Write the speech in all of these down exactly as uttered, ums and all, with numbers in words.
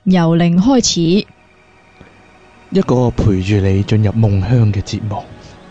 由零開始， 一個陪住你進入夢鄉嘅節目。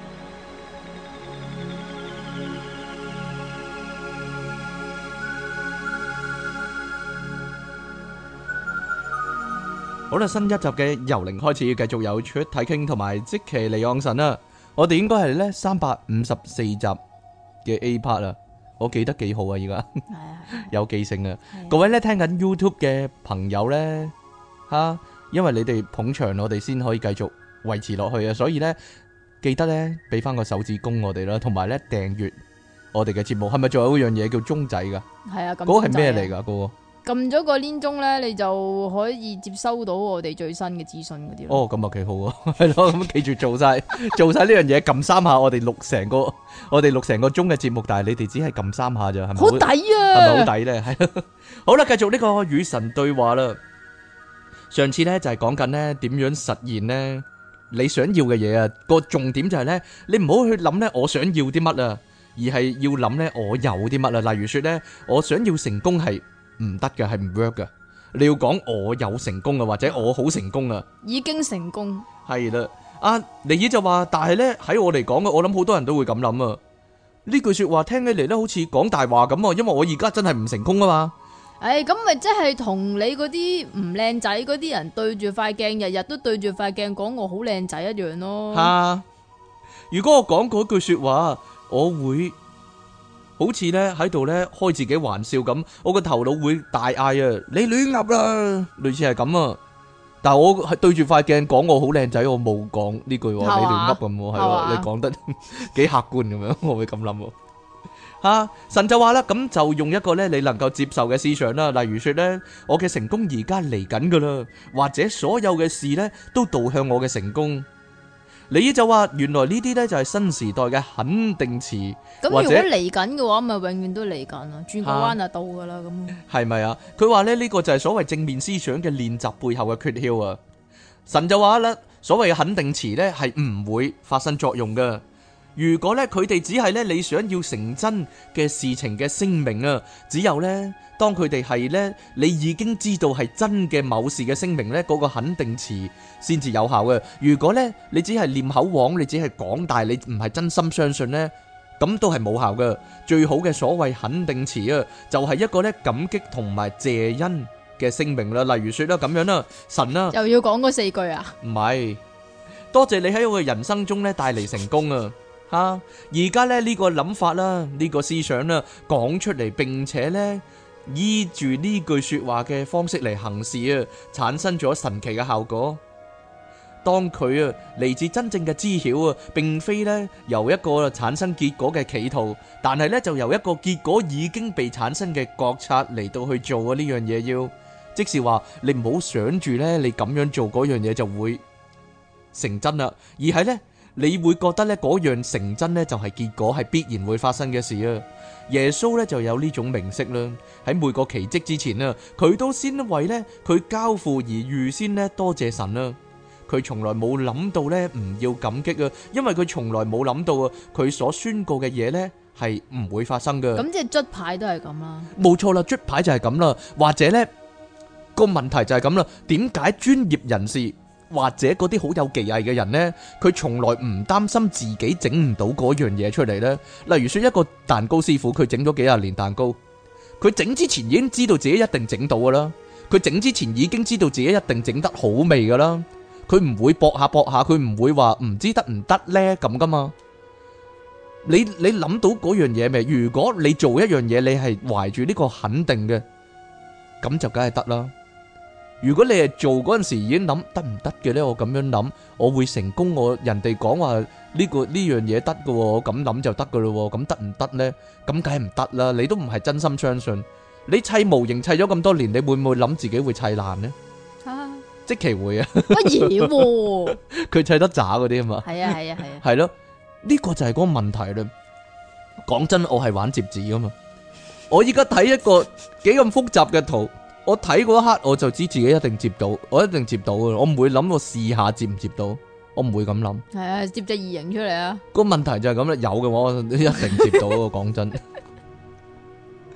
好啦，新一集嘅由零開始，繼續有出體傾同埋即其離岸神啦。我哋應該係咧三百五十四集嘅 A part 啦，我記得幾好啊，而家有記性啊。各位咧聽緊 YouTube 嘅朋友咧吓，因為你哋捧場，我哋先可以繼續維持落去啊。所以咧記得咧俾翻個手指公我哋啦，同埋咧訂閱我哋嘅節目。係咪仲有一樣嘢叫鐘仔噶？ 係啊， 嗰個係咩嚟噶？嗰個？ 撳咗個鏈鐘咧，你就可以接收到我哋最新嘅資訊嗰啲咯。 哦，咁啊幾好啊，係咯，咁記住做晒做晒呢樣嘢，撳三下，我哋錄成個我哋錄成個鐘嘅節目，但係你哋只係撳三下咋，係咪？ 好抵啊！ 係咪好抵咧？係好啦，繼續呢個與神對話啦。上次咧就係講緊咧點樣實現咧你想要嘅嘢啊，個重點就係咧你唔好去諗咧我想要啲乜啊，而係要諗咧我有啲乜啊。例如說咧我想要成功係唔得嘅，係唔 work 嘅。你要講我有成功啊，或者我好成功啊， 已經成功係啦。阿尼爾就話，但係咧喺我嚟講嘅，我諗好多人都會咁諗啊。呢句說話聽起嚟咧，好似講大話咁啊，因為我而家真係唔成功啊嘛。 誒，咁咪即係同你嗰啲唔靚仔嗰啲人對住塊鏡，日日都對住塊鏡講我好靚仔一樣咯。 吓，如果我講嗰句說話，我會好似咧喺度咧開自己玩笑咁，我個頭腦會大嗌啊！你亂噏啦，類似係咁啊。但係我係對住塊鏡講我好靚仔，我冇講呢句，你亂噏咁，係咯，你講得幾客觀咁樣，我會咁諗。吓，神就話啦，咁就用一個咧你能夠接受嘅思想啦，例如說咧，我嘅成功而家嚟緊噶啦，或者所有嘅事咧都導向我嘅成功。你就話原來呢啲咧就係新時代嘅肯定詞， 咁如果嚟緊嘅話，咪永遠都嚟緊咯，轉個彎就到噶啦。咁係咪啊？佢話咧呢個就係所謂正面思想嘅練習背後嘅訣竅啊。神就話啦，所謂嘅肯定詞咧係唔會發生作用噶。如果咧佢哋只係咧你想要成真嘅事情嘅聲明啊，只有咧當佢哋係咧你已經知道係真嘅某事嘅聲明咧，嗰個肯定詞先至有效嘅。如果咧你只係念口簧，你只係講，但係你唔係真心相信咧，咁都係冇效嘅。最好嘅所謂肯定詞啊，就係一個咧感激同埋謝恩嘅聲明啦。例如說啦咁樣啦，神啊， 又要講嗰四句啊？ 唔係，多謝你喺我嘅人生中咧帶嚟成功啊！吓，而家咧呢個諗法啦，呢個思想啦，講出嚟，並且咧依住呢句說話嘅方式嚟行事啊，產生咗神奇嘅效果。當佢啊嚟自真正嘅知曉啊，並非咧由一個產生結果嘅企圖，但係咧就由一個結果已經被產生嘅覺察嚟到去做啊呢樣嘢。要即是話你唔好想住咧，你咁樣做嗰樣嘢就會成真啦，而係咧。你會覺得咧嗰樣成真咧就係結果，係必然會發生嘅事啊！耶穌咧就有呢種明晰啦，喺每個奇蹟之前啊，佢都先為咧佢交付而預先咧多謝神啦。佢從來冇諗到咧唔要感激啊，因為佢從來冇諗到啊，佢所宣告嘅嘢咧係唔會發生噶。 咁即係捽牌都係咁啦， 冇錯啦，捽牌就係咁啦，或者咧個問題就係咁啦，點解專業人士？或者嗰啲好有技藝嘅人呢，佢從來唔擔心自己整唔到嗰樣嘢出嚟呢。例如說一個蛋糕師傅，佢整咗幾廿年蛋糕，佢整之前已經知道自己一定整到噶啦，佢整之前已經知道自己一定整得好味噶啦，佢唔會搏下搏下，佢唔會話唔知得唔得呢咁噶嘛。你你諗到嗰樣嘢未？如果你做一樣嘢，你係懷住呢個肯定嘅，咁就梗係得啦。如果你係做嗰陣時已經諗得唔得嘅呢？我咁樣諗，我會成功。我人哋講話呢個呢樣嘢得嘅，我咁諗就得嘅咯。咁得唔得呢？咁梗係唔得啦。你都唔係真心相信。你砌模型砌咗咁多年，你會唔會諗自己會砌爛呢？啊，即其會啊！ 乜嘢？ 佢砌得渣嗰啲啊嘛。 係啊係啊係啊。 係咯，呢個就係嗰個問題啦。講真，我係玩摺紙噶嘛。我依家睇一個幾咁複雜嘅圖。我睇嗰一刻我就知自己一定接到，我一定接到嘅，我唔會諗我試下接唔接到，我唔會咁諗。係啊，接隻異形出嚟啊！ 個問題就係咁啦，有嘅話我一定接到。講真，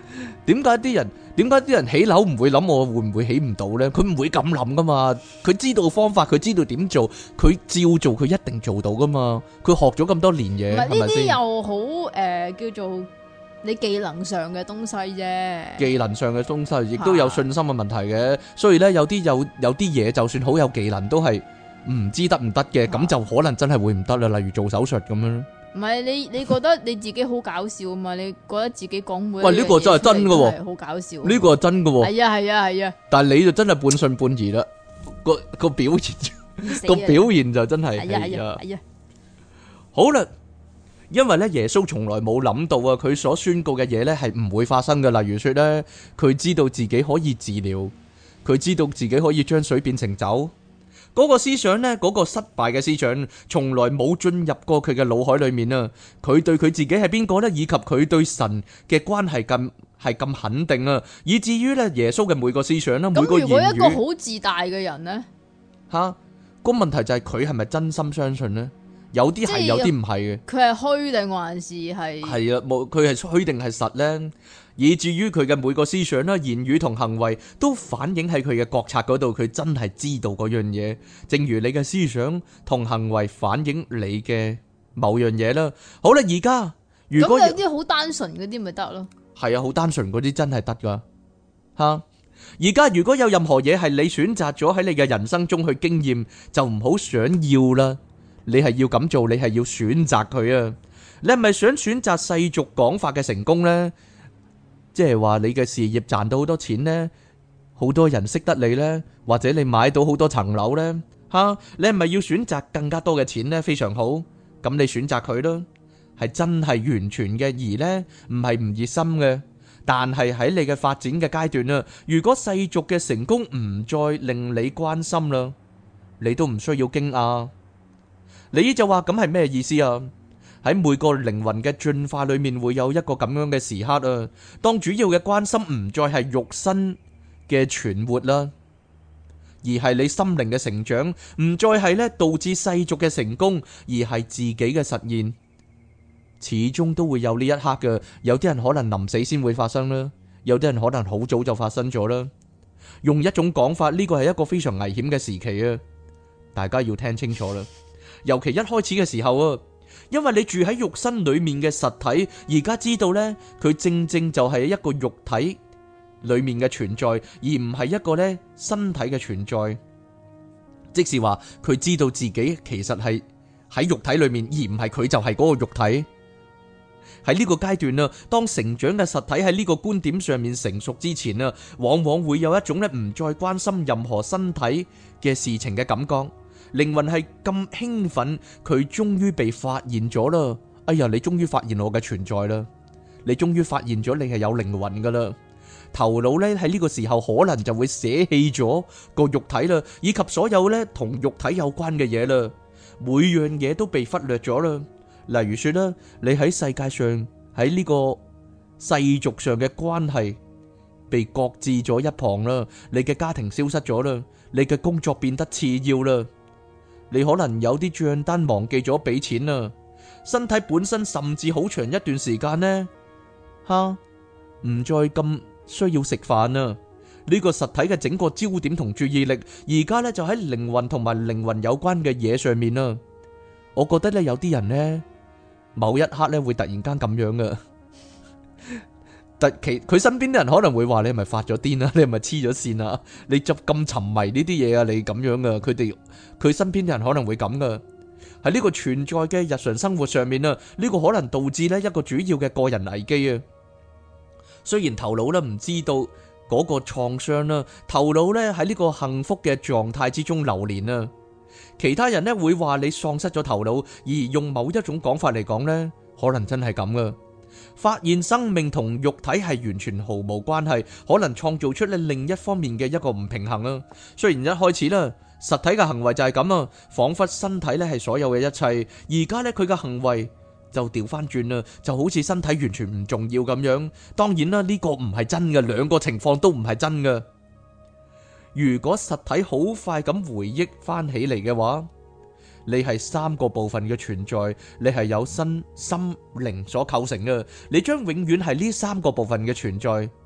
點解啲人點解啲人起樓唔會諗我會唔會起唔到呢？佢唔會咁諗噶嘛，佢知道方法，佢知道點做，佢照做，佢一定做到噶嘛。佢學咗咁多年嘢， 唔係呢啲係咪先？ 又好誒叫做你技能上嘅東西啫。 技能上嘅東西，亦都有信心嘅問題嘅。所以呢，有啲有有啲嘢，就算好有技能，都係唔知得唔得嘅，咁就可能真係會唔得啦。例如做手術咁樣。 唔係你你覺得你自己好搞笑啊嘛？你覺得自己講每喂呢個真係真㗎喎， 好搞笑。 呢個係真㗎喎。 係啊係啊係啊。 但係你就真係半信半疑啦，個個表現個表現就真係係啊係啊。好啦，因為咧耶穌從來冇諗到啊，佢所宣告嘅嘢咧係唔會發生嘅。例如說咧，佢知道自己可以治療，佢知道自己可以將水變成酒。嗰個思想呢，嗰個失敗嘅思想，從來冇進入過佢嘅腦海裏面啊！佢對佢自己係邊個呢？以及佢對神嘅關係咁係咁肯定啊！以至於呢耶穌嘅每個思想啦，每個言語。咁如果一個好自大嘅人呢？ 吓，個問題就係佢係咪真心相信呢？有啲係，有啲唔係嘅。 佢係虛定還是係？係啊，冇佢係虛定係實呢？以至於佢嘅每個思想啦、言語同行為都反映喺佢嘅覺察嗰度，佢真係知道嗰樣嘢。正如你嘅思想同行為反映你嘅某樣嘢啦。好啦，而家如果有啲好單純嗰啲咪得咯？ 係啊，好單純嗰啲真係得噶吓。而家如果有任何嘢係你選擇咗喺你嘅人生中去經驗，就唔好想要啦。你係要咁做，你係要選擇佢啊。你係咪想選擇世俗講法嘅成功呢？即係話你嘅事業賺到好多錢呢，好多人識得你呢，或者你買到好多層樓呢？吓，你係咪要選擇更加多嘅錢呢？非常好，咁你選擇佢咯，係真係完全嘅，而呢唔係唔熱心嘅。但係喺你嘅發展嘅階段啊，如果世俗嘅成功唔再令你關心啦，你都唔需要驚訝。你就話咁係咩意思啊？喺每個靈魂嘅進化裏面會有一個咁樣嘅時刻啊，當主要嘅關心唔再係肉身嘅存活啦，而係你心靈嘅成長，唔再係咧導致世俗嘅成功，而係自己嘅實現。始終都會有呢一刻嘅，有啲人可能臨死先會發生啦，有啲人可能好早就發生咗啦。用一種講法，呢個係一個非常危險嘅時期啊，大家要聽清楚啦。尤其一開始嘅時候啊，因為你住喺肉身裏面嘅實體，而家知道呢，佢正正就係一個肉體裏面嘅存在，而唔係一個呢身體嘅存在。即是話佢知道自己其實係喺肉體裏面，而唔係佢就係嗰個肉體。喺呢個階段啊，當成長嘅實體喺呢個觀點上面成熟之前啊，往往會有一種呢唔再關心任何身體嘅事情嘅感覺。靈魂係咁興奮，佢終於被發現咗啦！哎呀，你終於發現我嘅存在啦！你終於發現咗你係有靈魂噶啦！頭腦呢喺呢個時候可能就會捨棄咗個肉體啦，以及所有呢同肉體有關嘅嘢啦，每樣嘢都被忽略咗啦。例如說啦，你喺世界上喺呢個世俗上嘅關係被擱置咗一旁啦，你嘅家庭消失咗啦，你嘅工作變得次要啦。你可能有啲賬單忘記咗俾錢啦，身體本身甚至好長一段時間呢，吓唔再咁需要食飯啦。呢個實體嘅整個焦點同注意力，而家呢就喺靈魂同埋靈魂有關嘅嘢上面啦。我覺得呢有啲人呢，某一刻呢會突然間咁樣噶。特其佢身邊啲人可能會話你係咪發咗癲啊？你係咪黐咗線啊？你就咁沉迷呢啲嘢啊？你咁樣噶？佢哋佢身邊啲人可能會咁噶。喺呢個存在嘅日常生活上面啊，呢個可能導致呢一個主要嘅個人危機啊。雖然頭腦呢唔知道嗰個創傷啦，頭腦呢喺呢個幸福嘅狀態之中流連啊。其他人呢會話你喪失咗頭腦，而用某一種講法嚟講呢，可能真係咁噶。發現生命同肉體係完全毫無關係，可能創造出咧另一方面嘅一個唔平衡啊。雖然一開始啦，實體嘅行為就係咁啊，仿佛身體咧係所有嘅一切，而家咧佢嘅行為就調翻轉啦，就好似身體完全唔重要咁樣。當然啦，呢個唔係真嘅，兩個情況都唔係真嘅。如果實體好快咁回憶翻起嚟嘅話，你係三個部分嘅存在，你係有身心靈所構成嘅，你將永遠係呢三個部分嘅存在。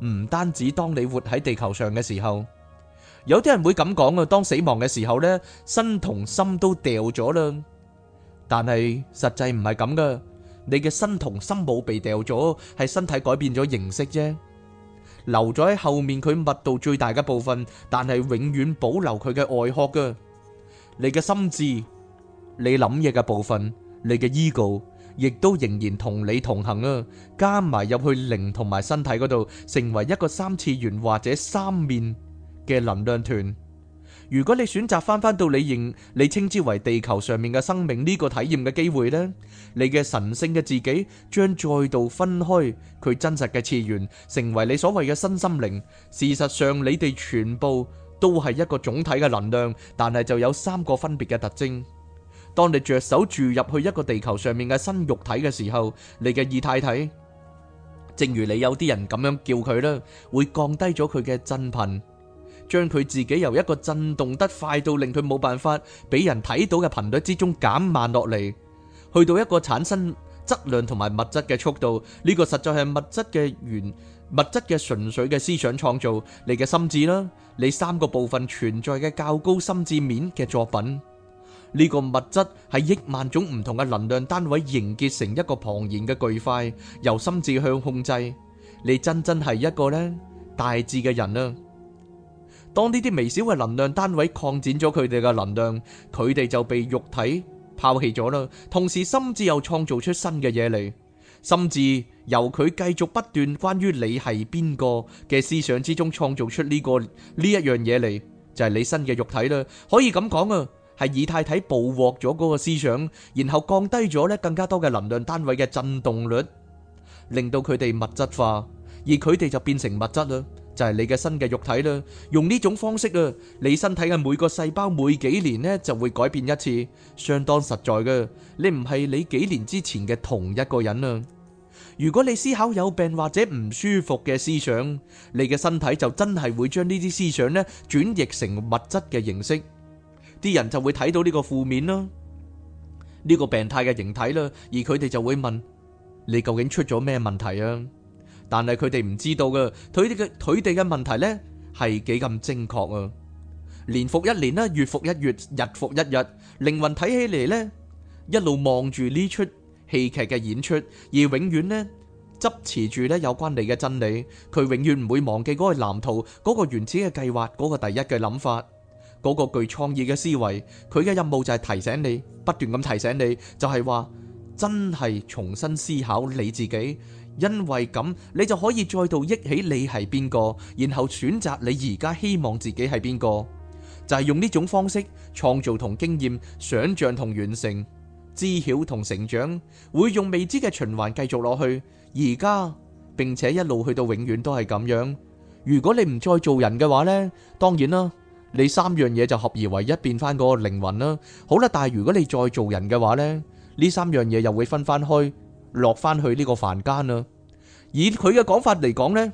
唔單止當你活喺地球上嘅時候。有啲人會咁講啊，當死亡嘅時候呢，身同心都掉咗啦。但係實際唔係咁噶，你嘅身同心冇被掉咗，係身體改變咗形式啫，留咗喺後面佢密度最大嘅部分，但係永遠保留佢嘅外殼噶。你嘅心智，你諗嘢嘅部分，你嘅 ego，亦都仍然同你同行啊，加埋入去靈同埋身體嗰度，成為一個三次元或者三面嘅能量團。如果你選擇翻翻到你認你稱之為地球上面嘅生命呢個體驗嘅機會呢，你嘅神聖嘅自己將再度分開佢真實嘅次元，成為你所謂嘅新心靈。事實上，你哋全部都係一個總體嘅能量，但係就有三個分別嘅特徵。當你着手注入去一個地球上面嘅新肉體嘅時候，你嘅異態體，正如你有啲人咁樣叫佢啦，會降低咗佢嘅振頻，將佢自己由一個震動得快到令佢冇辦法俾人睇到嘅頻率之中減慢落嚟，去到一個產生質量同埋物質嘅速度。呢個實在係物質嘅原物質嘅純粹嘅思想創造，你嘅心智啦，你三個部分存在嘅較高心智面嘅作品。呢個物質係億萬種唔同嘅能量單位凝結成一個龐然嘅巨塊，由心智向控制。你真真係一個呢大智嘅人啊！當呢啲微小嘅能量單位擴展咗佢哋嘅能量，佢哋就被肉體拋棄咗啦。同時心智又創造出新嘅嘢嚟，心智由佢繼續不斷關於你係邊個嘅思想之中創造出呢、這個呢一樣嘢嚟，就係、是、你新嘅肉體啦。可以咁講啊，係以太體捕獲咗嗰個思想，然後降低咗咧更加多嘅能量單位嘅震動率，令到佢哋物質化，而佢哋就變成物質啦。就係你嘅新嘅肉體啦，用呢種方式啊，你身體嘅每個細胞每幾年呢就會改變一次，相當實在嘅。你唔係你幾年之前嘅同一個人啊。如果你思考有病或者唔舒服嘅思想，你嘅身體就真係會將呢啲思想呢轉譯成物質嘅形式，啲人就會睇到呢個負面啦，呢個病態嘅形體啦，而佢哋就會問你究竟出咗咩問題啊？但係佢哋唔知道嘅，佢哋嘅佢哋嘅問題呢係幾咁精確啊！年復一年啦，月復一月，日復一日，靈魂睇起嚟呢，一路望住呢出戲劇嘅演出，而永遠呢執持住呢有關你嘅真理。佢永遠唔會忘記嗰個藍圖，嗰個原始嘅計劃，嗰個第一嘅諗法，嗰個具創意嘅思維。佢嘅任務就係提醒你，不斷咁提醒你，就係話真係重新思考你自己。因為咁，你就可以再度憶起你係邊個，然後選擇你而家希望自己係邊個，就係用呢種方式創造同經驗、想象同完成、知曉同成長，會用未知嘅循環繼續落去，而家並且一路去到永遠都係咁樣。如果你唔再做人嘅話呢，當然啦，你三樣嘢就合而為一，變翻嗰個靈魂啦。好啦，但係如果你再做人嘅話呢，呢三樣嘢又會分翻開，落翻去呢個凡間啦。以佢嘅講法嚟講呢，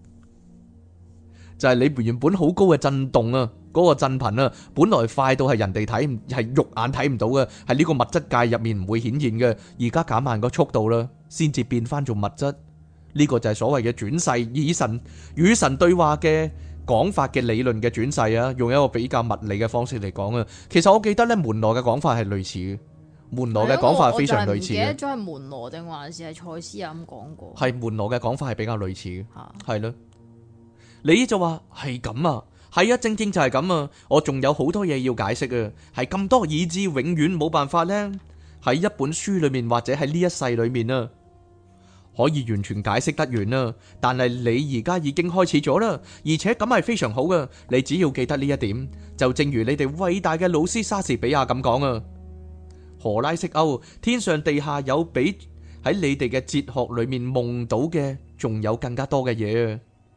就係你原本好高嘅震動啊，嗰個震頻啊，本來快到係人哋睇，係肉眼睇唔到嘅，係呢個物質界入面唔會顯現嘅。而家減慢個速度啦，先至變翻做物質。呢個就係所謂嘅轉世，以神與神對話嘅講法嘅理論嘅轉世啊，用一個比較物理嘅方式嚟講啊。其實我記得呢，門羅嘅講法係類似嘅。門羅嘅講法係非常類似嘅。我就唔記得咗係門羅定還是係賽斯啊咁講過。係門羅嘅講法係比較類似嘅，係咯。你就話係咁啊，係啊，正正就係咁啊。我仲有好多嘢要解釋啊，係咁多以致永遠冇辦法呢，喺一本書裏面或者喺呢一世裏面啊，可以完全解釋得完啦。但係你而家已經開始咗啦，而且咁係非常好嘅。你只要記得呢一點，就正如你哋偉大嘅老師莎士比亞咁講啊。荷拉式歐，天上地下有比喺你哋嘅哲學裏面夢到嘅仲有更加多嘅嘢啊！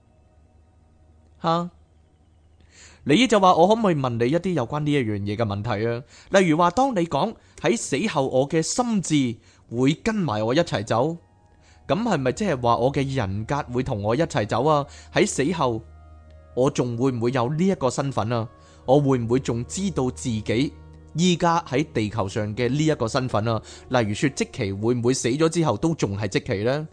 吓，你就話我可唔可以問你一啲有關呢一樣嘢嘅問題啊？例如話，當你講喺死後我嘅心智會跟埋我一齊走，咁係咪即係話我嘅人格會同我一齊走啊？喺死後我仲會唔會有呢一個身份啊？我會唔會仲知道自己依家喺地球上嘅呢一個身份啊？例如說，即期會唔會死咗之後都仲係即期呢？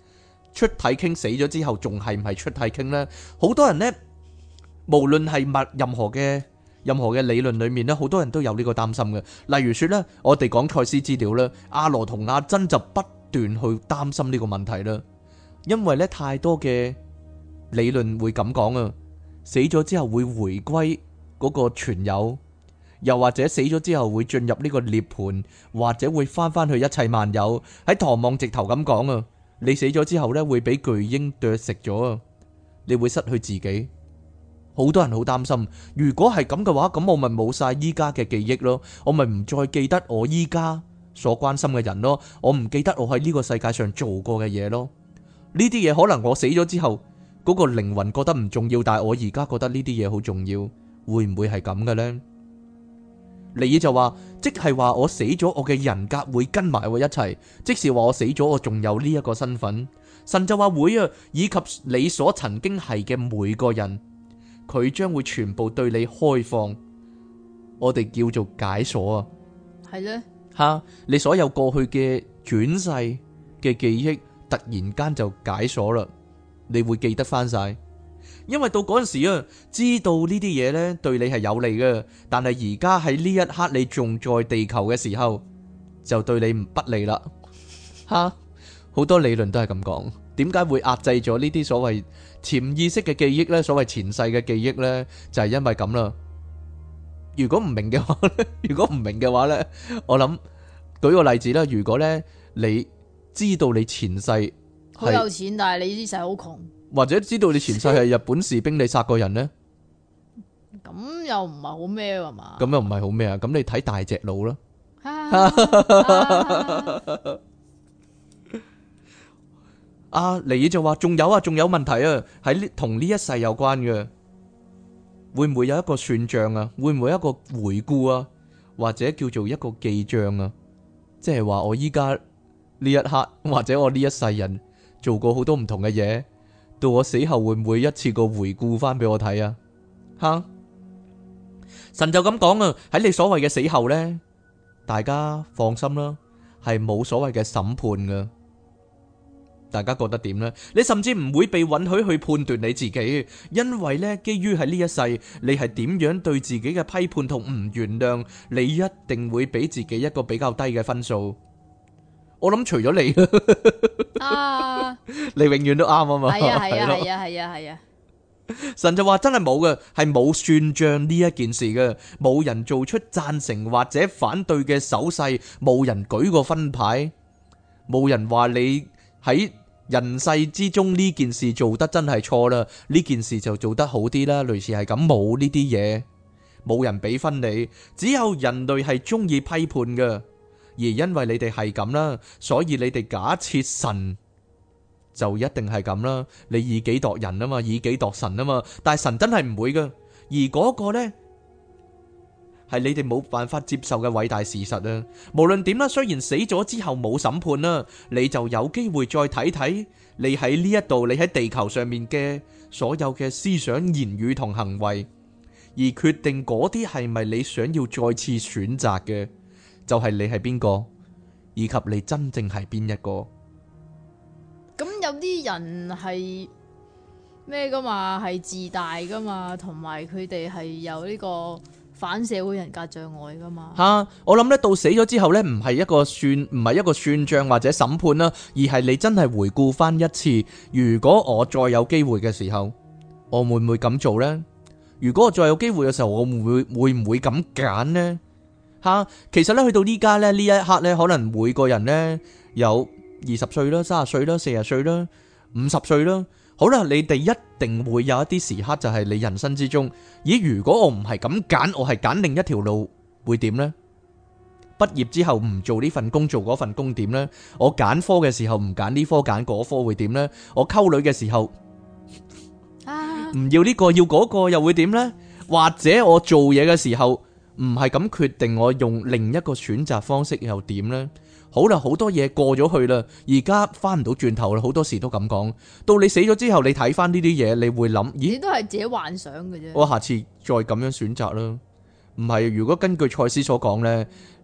出體傾死咗之後仲係唔係出體傾呢？好多人呢，無論係物任何嘅任何嘅理論裏面呢，好多人都有呢個擔心嘅。例如說呢，我哋講賽斯資料啦，阿羅同阿珍就不斷去擔心呢個問題啦，因為呢太多嘅理論會咁講啊，死咗之後會回歸嗰個存有，又或者死咗之後會進入呢個涅槃，或者會翻翻去一切萬有。喺唐望直頭咁講啊，你死咗之後呢會俾巨鷹啄食咗啊，你會失去自己。好多人好擔心，如果係咁嘅話，咁我咪冇晒依家嘅記憶咯，我咪唔再記得我依家所關心嘅人咯，我唔記得我喺呢個世界上做過嘅嘢咯。呢啲嘢可能我死咗之後嗰個靈魂覺得唔重要，但係我而家覺得呢啲嘢好重要，會唔會係咁嘅呢？尼爾就話，即係話我死咗，我嘅人格會跟埋我一齊，即是話我死咗，我仲有呢一個身份。神就話會啊，以及你所曾經係嘅每個人，佢將會全部對你開放，我哋叫做解鎖啊。 係咧吓，你所有過去嘅轉世嘅記憶，突然間就解鎖啦，你會記得翻晒。因為到嗰陣時啊，知道呢啲嘢呢對你係有利嘅，但係而家喺呢一刻你仲在地球嘅時候，就對你唔不利啦。吓，好多理論都係咁講。點解會壓制咗呢啲所謂潛意識嘅記憶呢？所謂前世嘅記憶呢，就係因為咁啦。如果唔明嘅話咧，如果唔明嘅話呢，我諗舉個例子啦。如果呢你知道你前世好有錢，但係你呢世好窮， 或者知道你前世係日本士兵，你殺過人呢？ 咁又唔係好咩㗎嘛？ 咁又唔係好咩啊？咁你睇大隻佬啦。阿尼爾就話：仲有啊，仲有問題啊，喺呢同呢一世有關嘅，會唔會有一個算賬啊？會唔會有一個回顧啊？或者叫做一個記賬啊？即係話我依家呢一刻，或者我呢一世人做過好多唔同嘅嘢，到我死後會唔會一次過回顧翻俾我睇啊？吓，神就咁講啊！喺你所謂嘅死後呢，大家放心啦，係冇所謂嘅審判噶。大家覺得點呢？你甚至唔會被允許去判斷你自己，因為呢，基於喺呢一世，你係點樣對自己嘅批判同唔原諒，你一定會俾自己一個比較低嘅分數。我諗除咗你，啊，你永遠都啱啊嘛。 係啊係啊係啊係啊係啊。 神就話真係冇嘅，係冇算賬呢一件事嘅，冇人做出贊成或者反對嘅手勢，冇人舉個分牌，冇人話你喺人世之中呢件事做得真係錯啦，呢件事就做得好啲啦，類似係咁，冇呢啲嘢，冇人俾分你，只有人類係中意批判嘅，而因為你哋係咁啦，所以你哋假設神就一定係咁啦，你以己度人啊嘛，以己度神啊嘛，但係神真係唔會噶，而嗰個呢係你哋冇辦法接受嘅偉大事實啊！無論點啦，雖然死咗之後冇審判啦，你就有機會再睇睇你喺呢一度，你喺地球上面嘅所有嘅思想、言語同行為，而決定嗰啲係咪你想要再次選擇嘅，就係你係邊個，以及你真正係邊一個。 咁有啲人係咩噶嘛？係自大噶嘛？同埋佢哋係有呢個反社會人格障礙噶嘛？吓、啊， 我諗咧到死咗之後咧，唔係一個算，唔係一個算賬或者審判啦，而係你真係回顧翻一次，如果我再有機會嘅時候，我會唔會咁做呢？如果我再有機會嘅時候，我會唔會會唔會咁揀呢？吓、啊，其實咧去到呢家咧呢一刻咧，可能每個人咧有二十歲啦、三十歲啦、四十歲啦、五十歲啦。好啦，你哋一定會有一啲時刻，就係你人生之中，咦？如果我唔係咁揀，我係揀另一條路，會點呢？畢業之後唔做呢份工，做嗰份工點呢？我揀科嘅時候唔揀呢科，揀嗰科會點呢？我溝女嘅時候唔要呢個，要嗰個又會點呢？或者我做嘢嘅時候唔係咁決定，我用另一個選擇方式又點呢？好啦，好多嘢過咗去啦，而家翻唔到轉頭啦，好多時都咁講。到你死咗之後，你睇翻呢啲嘢，你會諗，咦？ 你都係自己幻想嘅啫。 我下次再咁樣選擇啦。唔係，如果根據賽斯所講呢，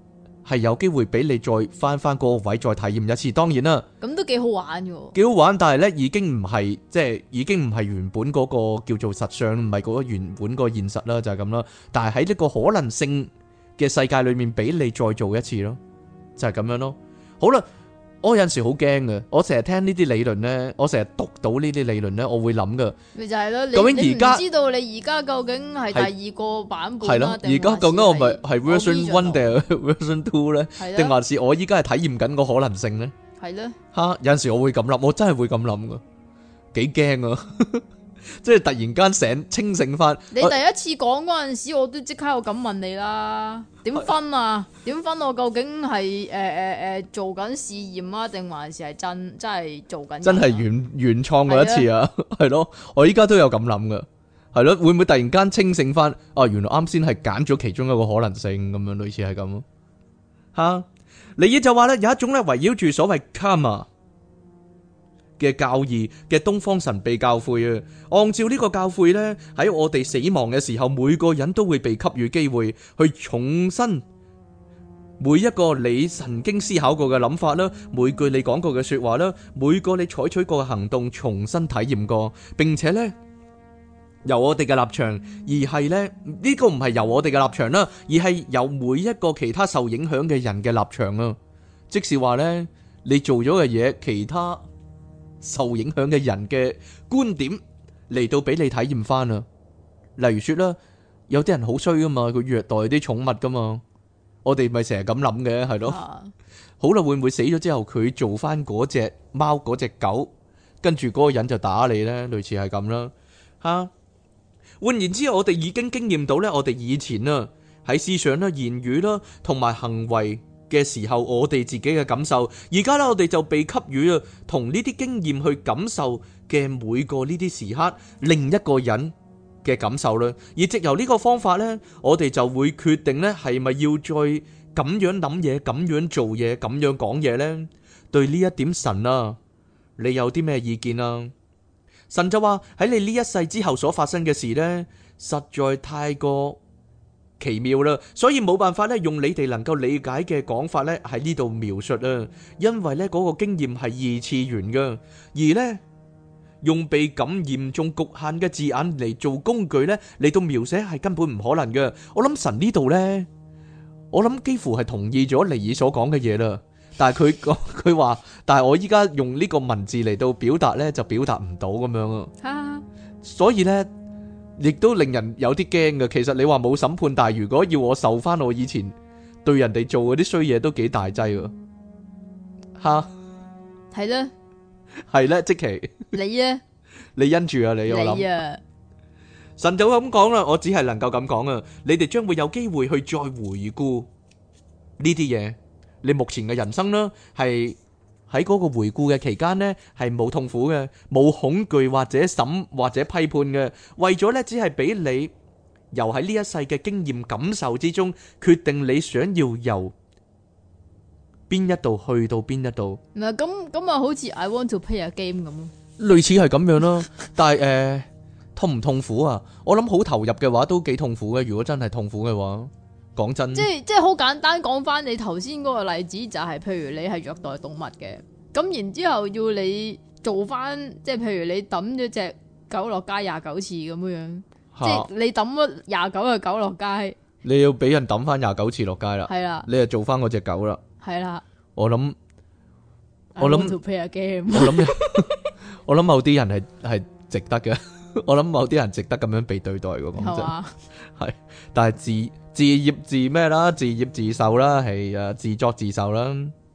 係有機會俾你再翻翻嗰個位再體驗一次。當然啦， 咁都幾好玩嘅喎。 幾好玩，但係咧已經唔係即係已經唔係原本嗰個叫做實相，唔係嗰個原本個現實啦，就係咁啦。但係喺呢個可能性嘅世界裏面，俾你再做一次咯，就係咁樣咯。好啦。我有陣時好驚嘅，我成日聽呢啲理論咧，我成日讀到呢啲理論咧，我會諗噶。 咪就係咯， 究竟而家你唔知道你而家究竟係第二個版本係咯，而家究竟我咪係 version one 定係 version two 咧？定還是我依家係體驗緊個可能性咧？ 係咯。 吓，有陣時我會咁諗，我真係會咁諗噶，幾驚啊！即係突然間醒清醒翻。 你第一次講嗰陣時，我都即刻有咁問你啦。點分啊？點分我究竟係誒誒誒做緊試驗啊，定還是係真真係做緊？真係原原創過一次啊，係咯。我依家都有咁諗噶，係咯。會唔會突然間清醒翻？哦，原來啱先係揀咗其中一個可能性咁樣，類似係咁。吓，尼爾就話咧，有一種咧圍繞住所謂 karma嘅教義嘅東方神秘教誨啊，按照呢個教誨呢，喺我哋死亡嘅時候，每個人都會被給予機會去重新每一個你曾經思考過嘅諗法啦，每句你講過嘅說話啦，每個你採取過嘅行動，重新體驗過，並且呢，由我哋嘅立場，而係呢，呢個唔係由我哋嘅立場啦，而係由每一個其他受影響嘅人嘅立場啊，即是話呢，你做咗嘅嘢，其他受影響嘅人嘅觀點嚟到俾你體驗翻啊！例如說啦，有啲人好衰噶嘛，佢虐待啲寵物噶嘛，我哋咪成日咁諗嘅，係咯。啊、好啦，會唔會死咗之後佢做翻嗰隻貓嗰隻狗，跟住嗰個人就打你呢？類似係咁啦。吓、啊，換言之，我哋已經經驗到呢，我哋以前啊喺思想啦、言語啦同埋行為嘅時候，我哋自己嘅感受，而家咧我哋就被給予啊同呢啲經驗去感受嘅每個呢啲時刻，另一個人嘅感受啦。而藉由呢個方法呢，我哋就會決定呢係咪要再咁樣諗嘢、咁樣做嘢、咁樣講嘢呢？對呢一點，神啊，你有啲咩意見啊？神就話喺你呢一世之後所發生嘅事呢，實在太過奇妙啦，所以冇辦法咧用你哋能夠理解嘅講法咧喺呢度描述啊，因為咧嗰個經驗係二次元噶，而咧用被感嚴重局限嘅字眼嚟做工具咧嚟到描寫係根本唔可能嘅。我諗神呢度咧，我諗幾乎係同意咗尼爾所講嘅嘢啦，但係佢講佢話，但係我依家用呢個文字嚟到表達咧就表達唔到咁樣啊，所以咧。亦都令人有啲驚嘅。其實你話冇審判，但係如果要我受翻我以前對人哋做嗰啲衰嘢，都幾大劑噶。吓， 係咧， 係咧，即其你咧， 你因住啊，你我諗啊， 神就咁講啦，我只係能夠咁講啊。你哋將會有機會去再回顧呢啲嘢，你目前嘅人生啦，係。喺嗰個回顧嘅期間呢，係冇痛苦嘅，冇恐懼或者審或者批判嘅，為咗呢，只係俾你由喺呢一世嘅經驗感受之中，決定你想要由邊一度去到邊一度。 唔係咁咁啊，好似 I want to play a game 咁咯， 類似係咁樣咯。但係誒、呃，痛唔痛苦啊？我諗好投入嘅話，都幾痛苦嘅。如果真係痛苦嘅話。講真，即係即係好簡單講翻你頭先嗰個例子，就係譬如你係虐待動物嘅，咁然之後要你做翻，即係譬如你抌咗隻狗落街廿九次咁樣樣，啊、即係你抌咗廿九個狗落街， 你要俾人抌翻廿九次落街啦，係啦，你就做翻嗰隻狗啦，係啦，我諗我諗我諗我諗某啲人係係值得嘅，我諗某啲人值得咁樣被對待嘅，講真係，但係自。自業自咩啦？自業自受啦，係啊，自作自受啦。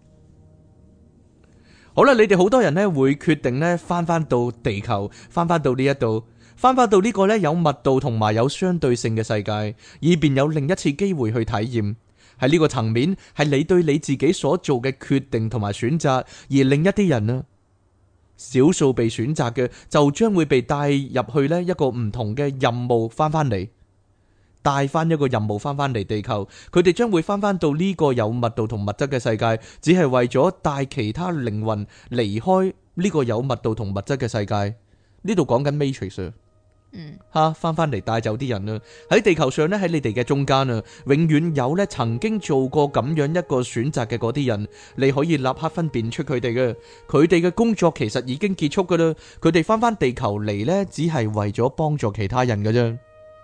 好啦，你哋好多人呢會決定呢翻翻到地球，翻翻到呢一度，翻翻到呢個呢有密度同埋有相對性嘅世界，以便有另一次機會去體驗。喺呢個層面，係你對你自己所做嘅決定同埋選擇，而另一啲人啊，少數被選擇嘅就將會被帶入去呢一個唔同嘅任務，翻翻嚟。帶翻一個任務翻翻嚟地球，佢哋將會翻翻到呢個有密度同物質嘅世界，只係為咗帶其他靈魂離開呢個有密度同物質嘅世界。呢度講緊 Matrix， 嗯， 吓翻翻嚟帶走啲人啦。喺地球上咧，喺你哋嘅中間啊，永遠有咧曾經做過咁樣一個選擇嘅嗰啲人，你可以立刻分辨出佢哋嘅。佢哋嘅工作其實已經結束噶啦，佢哋翻翻地球嚟咧，只係為咗幫助其他人噶啫。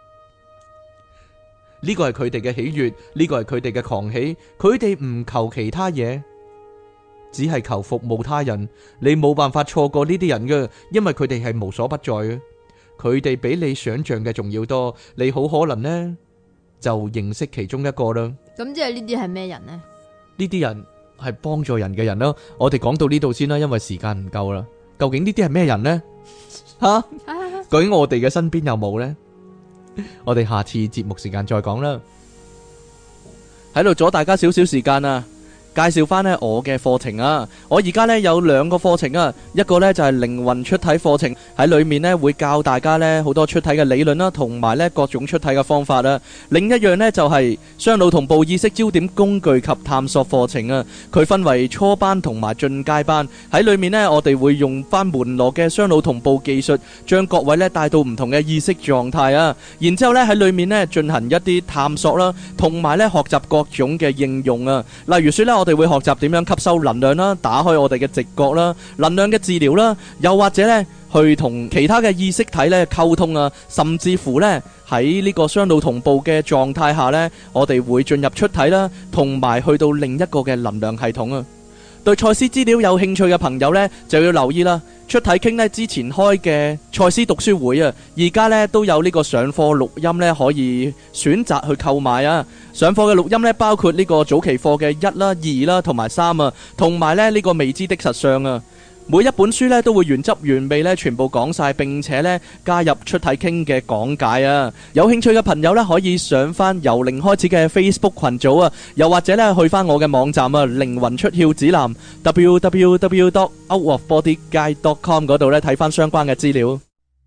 呢個係佢哋嘅喜悅，呢個係佢哋嘅狂喜，佢哋唔求其他嘢，只係求服務他人。你冇辦法錯過呢啲人嘅，因為佢哋係無所不在嘅。佢哋比你想象嘅仲要多，你好可能呢就認識其中一個啦。 咁即係呢啲係咩人呢？ 呢啲人係幫助人嘅人咯。我哋講到呢度先啦，因為時間唔夠啦。究竟呢啲係咩人呢？吓，究竟我哋嘅身邊有冇呢？我哋下次節目時間再講啦。喺度阻大家少少時間啊！介紹翻呢我嘅課程啊！我而家呢有兩個課程啊，一個呢就係靈魂出體課程，喺裏面呢會教大家呢好多出體嘅理論啦，同埋呢各種出體嘅方法啊。另一樣呢就係雙腦同步意識焦點工具及探索課程啊。佢分為初班同埋進階班，喺裏面呢我哋會用翻門羅嘅雙腦同步技術，將各位呢帶到唔同嘅意識狀態啊。然之後呢喺裏面呢進行一啲探索啦，同埋呢學習各種嘅應用啊。例如說呢我我哋會學習點樣吸收能量啦，打開我哋嘅直覺啦，能量嘅治療啦，又或者呢去同其他嘅意識體呢溝通啊，甚至乎呢喺呢個雙腦同步嘅狀態下呢，我哋會進入出體啦，同埋去到另一個嘅能量系統啊。對賽斯資料有興趣嘅朋友呢，就要留意啦。出體傾呢之前開嘅賽斯讀書會啊，而家呢都有呢個上課錄音呢，可以選擇去購買啊。上課嘅錄音呢，包括呢個早期課嘅一啦、二啦同埋三啊，同埋呢呢個未知的實相啊。每一本書呢都會原汁原味呢全部講晒，並且呢加入出體傾嘅講解啊。有興趣嘅朋友呢，可以上翻由零開始嘅 Facebook 群組啊，又或者呢去翻我嘅網站啊，靈魂出竅指南 double-u double-u double-u dot out of body guide dot com 嗰度呢睇翻相關嘅資料。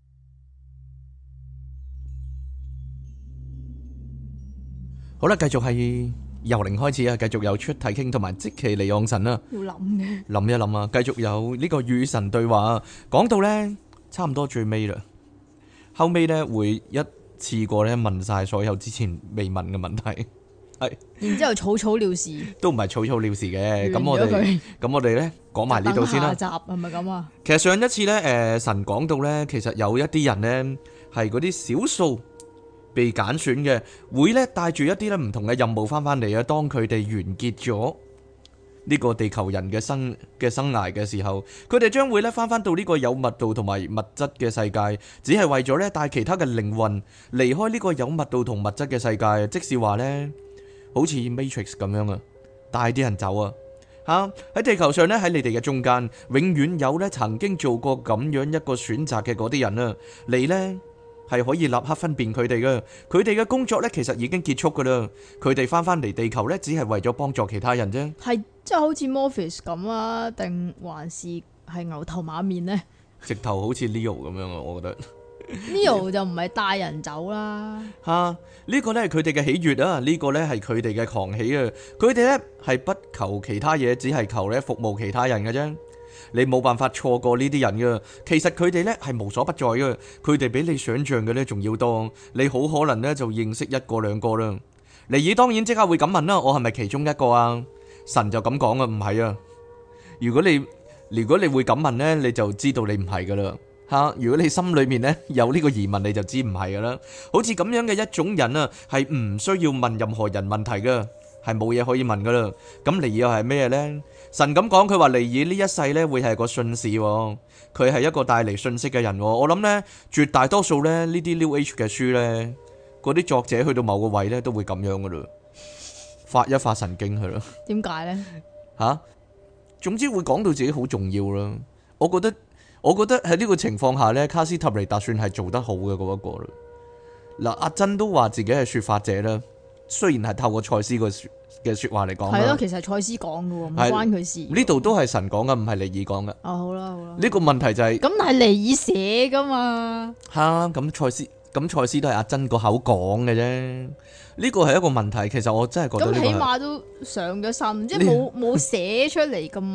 好啦，繼續係由零開始啊，繼續有出體傾同埋即其離岸神啦。 要諗嘅， 諗一諗啊，繼續有呢個與神對話啊。講到呢，差唔多最尾啦，後尾呢會一次過呢問晒所有之前未問嘅問題，係， 然之後草草了事， 都唔係草草了事嘅。咁我完咗佢哋咁我哋呢講埋呢度先啦。 等下集係咪咁啊？ 其實上一次呢，誒神講到呢，其實有一啲人呢係嗰啲少數被揀選嘅，會咧帶住一啲咧唔同嘅任務翻返嚟啊。當佢哋完結咗呢個地球人嘅生嘅生涯嘅時候，佢哋將會咧翻返到呢個有密度同埋物質嘅世界，只係為咗咧帶其他嘅靈魂離開呢個有密度同物質嘅世界。即是話呢，好似 Matrix 咁樣啊，帶啲人走啊吓。喺地球上呢，喺你哋嘅中間，永遠有咧曾經做過咁樣一個選擇嘅嗰啲人啊，你呢，係可以立刻分辨佢哋嘅，佢哋嘅工作呢，其實已經結束噶啦。佢哋翻返嚟地球呢，只係為咗幫助其他人啫。 係即係好似 Morpheus 咁啊，定還是係牛頭馬面呢？ 直頭好似 Leo 咁樣啊，我覺得 Leo 就唔係帶人走啦。 吓，呢個呢係佢哋嘅喜悅啊，呢個呢係佢哋嘅狂喜啊。佢哋呢係不求其他嘢，只係求呢服務其他人嘅啫。你冇辦法錯過呢啲人噶，其實佢哋呢係無所不在噶，佢哋比你想象嘅呢仲要多，你好可能呢就認識一個兩個啦。尼爾當然即刻會咁問啦，我係咪其中一個啊？神就咁講啊，唔係啊。如果你如果你會咁問呢，你就知道你唔係噶啦吓。如果你心裏面呢有呢個疑問，你就知唔係噶啦。好似咁樣嘅一種人啊，係唔需要問任何人問題噶，係冇嘢可以問噶啦。咁尼爾又係咩呢？神咁講，佢話尼爾呢一世呢會係個信使，佢係一個帶嚟信息嘅人。我諗呢，絕大多數呢呢啲 New Age 嘅書呢，嗰啲作者去到某個位呢都會咁樣噶啦，發一發神經係咯。點解呢？吓、啊，總之會講到自己好重要啦。我覺得，我覺得喺呢個情況下呢，卡斯塔尼達算係做得好嘅嗰一個啦。嗱，阿珍都話自己係說法者啦，雖然係透過賽斯個嘅說話嚟講，係咯，其實賽斯講嘅，唔關佢事。呢度都係神講嘅，唔係尼爾講嘅。哦，好啦好啦。呢個問題就係咁係尼爾寫噶嘛？吓，咁賽斯咁賽斯都係阿珍個口講嘅啫。呢個係一個問題，其實我真係覺得咁起碼都上咗身，即係冇冇寫出嚟咁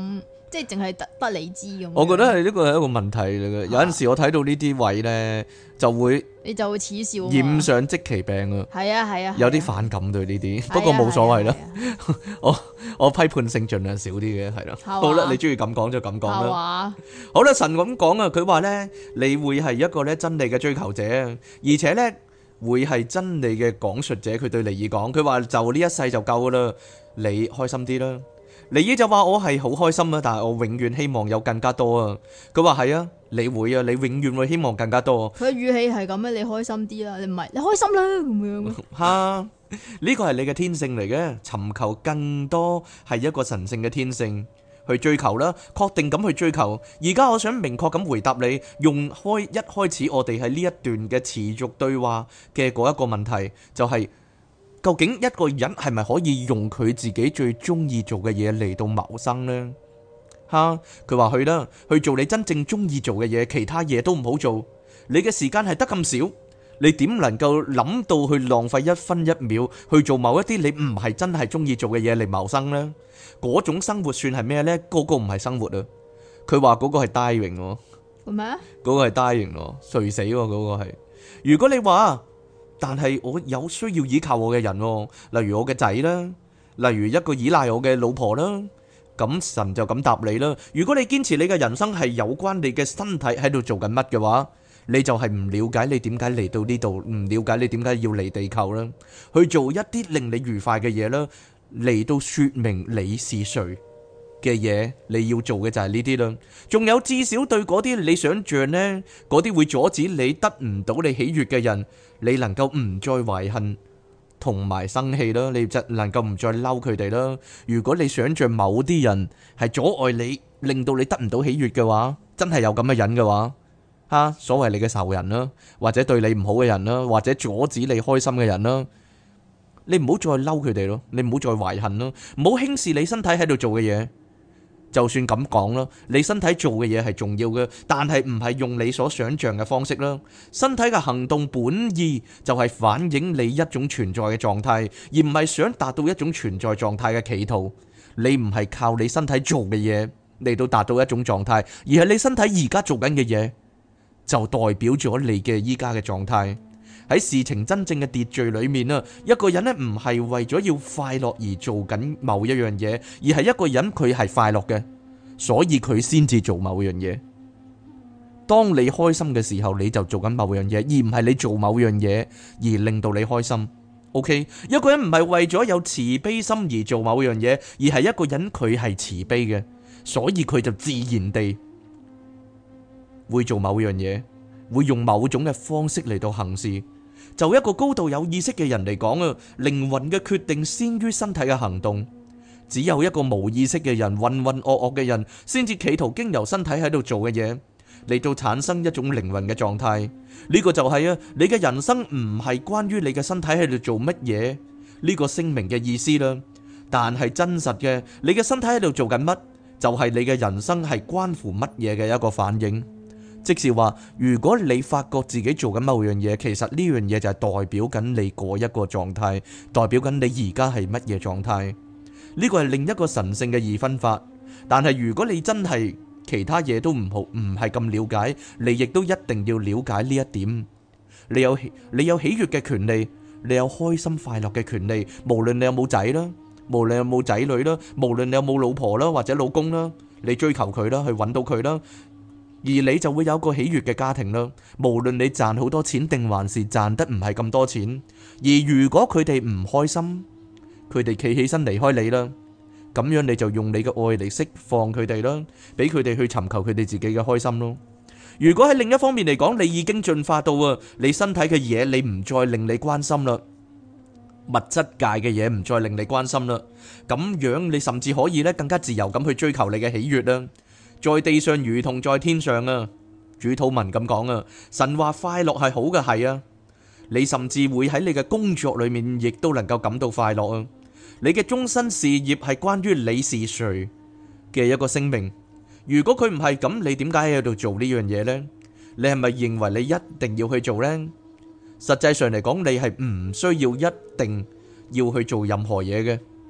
即係淨係得得你知咁樣。 我覺得係呢個係一個問題嚟嘅。有陣時我睇到呢啲位咧，就會你就會恥笑嘛， 染上即其病啊。 係啊係啊， 有啲反感對呢啲， 係啊不過冇所謂啦。 係啊我我批判性盡量少啲嘅，係啦。 係嘛好啦，你中意咁講就咁講係啦。 嘛， 好啦，神咁講啊，佢話咧，你會係一個咧真理嘅追求者，而且咧會係真理嘅講述者。佢對尼爾講，佢話就呢一世就夠啦，你開心啲啦。尼爾就話我係好開心啊，但係我永遠希望有更加多啊。佢話係啊，你會啊，你永遠會希望更加多。 佢嘅語氣係咁樣，你開心啲啦，你唔係你開心啦咁樣。 哈，呢個係你嘅天性嚟嘅，尋求更多係一個神聖嘅天性，去追求啦，確定咁去追求。而家我想明確咁回答你，用開一開始我哋喺呢一段嘅持續對話嘅嗰一個問題，就係、是。究竟一個人係咪可以用佢自己最中意做嘅嘢嚟到謀生呢？吓，佢話去啦，去做你真正中意做嘅嘢，其他嘢都唔好做。你嘅時間係得咁少，你點能夠諗到去浪費一分一秒去做某一啲你唔係真係中意做嘅嘢嚟謀生呢？嗰種生活算係咩呢？嗰個唔係生活啊！佢話嗰個係 dying 喎， 係咪啊？ 嗰個係 dying 喎，垂死喎，嗰個係。如果你話，但係我有需要依靠我嘅人，例如我嘅仔啦，例如一個依賴我嘅老婆啦，咁神就咁答你啦。如果你堅持你嘅人生係有關你嘅身體喺度做緊乜嘅話，你就係唔了解你點解嚟到呢度，唔了解你點解要嚟地球啦，去做一啲令你愉快嘅嘢啦，嚟到說明你是誰嘅嘢，你要做嘅就係呢啲啦。仲有至少對嗰啲你想象呢，嗰啲會阻止你得唔到你喜悅嘅人，你能夠唔再懷恨同埋生氣啦，你就能夠唔再嬲佢哋啦。如果你想象某啲人係阻礙你，令到你得唔到喜悅嘅話，真係有咁嘅人嘅話，吓，所謂你嘅仇人啦，或者對你唔好嘅人啦，或者阻止你開心嘅人啦，你唔好再嬲佢哋咯，你唔好再懷恨咯，唔好輕視你身體喺度做嘅嘢。就算咁講啦，你身體做嘅嘢係重要嘅，但係唔係用你所想象嘅方式啦。身體嘅行動本意就係反映你一種存在嘅狀態，而唔係想達到一種存在狀態嘅企圖。你唔係靠你身體做嘅嘢嚟到達到一種狀態，而係你身體而家做緊嘅嘢就代表咗你嘅依家嘅狀態。喺事情真正嘅秩序裏面啊，一個人呢唔係為咗要快樂而做緊某一樣嘢，而係一個人佢係快樂嘅，所以佢先至做某樣嘢。當你開心嘅時候，你就做緊某樣嘢，而唔係你做某樣嘢而令到你開心。OK， 一個人唔係為咗有慈悲心而做某樣嘢，而係一個人佢係慈悲嘅，所以佢就自然地會做某樣嘢，會用某種嘅方式嚟到行事。就一個高度有意識嘅人嚟講啊，靈魂嘅決定先於身體嘅行動。只有一個無意識嘅人，渾渾噩噩嘅人，先至企圖經由身體喺度做嘅嘢嚟到產生一種靈魂嘅狀態。呢個就係啊，你嘅人生唔係關於你嘅身體喺度做乜嘢呢個聲明嘅意思啦。但係真實嘅，你嘅身體喺度做緊乜，就係你嘅人生係關乎乜嘢嘅一個反應。即是話，如果你發覺自己做緊某樣嘢，其實呢樣嘢就係代表緊你嗰一個狀態，代表緊你而家係乜嘢狀態。呢個係另一個神聖嘅二分法。但係如果你真係其他嘢都唔好，唔係咁了解，你亦都一定要了解呢一點。你有你有喜悅嘅權利，你有開心快樂嘅權利，無論你有冇仔啦，無論有冇仔女啦，無論你有冇老婆啦或者老公啦，你追求佢啦，去揾到佢啦。而你就會有個喜悅嘅家庭啦，無論你賺好多錢定還是賺得唔係咁多錢。而如果佢哋唔開心，佢哋企起身離開你啦，咁樣你就用你嘅愛嚟釋放佢哋啦，俾佢哋去尋求佢哋自己嘅開心咯。如果喺另一方面嚟講，你已經進化到啊，你身體嘅嘢你唔再令你關心啦，物質界嘅嘢唔再令你關心啦，咁樣你甚至可以咧更加自由咁去追求你嘅喜悅啦。在地上如同在天上啊，主禱文咁講啊，神話快樂係好嘅，係啊，你甚至會喺你嘅工作裏面亦都能夠感到快樂啊。你嘅終身事業係關於你是誰嘅一個聲明。如果佢唔係咁，你點解喺度做呢樣嘢呢？你係咪認為你一定要去做呢？實際上嚟講，你係唔需要一定要去做任何嘢嘅。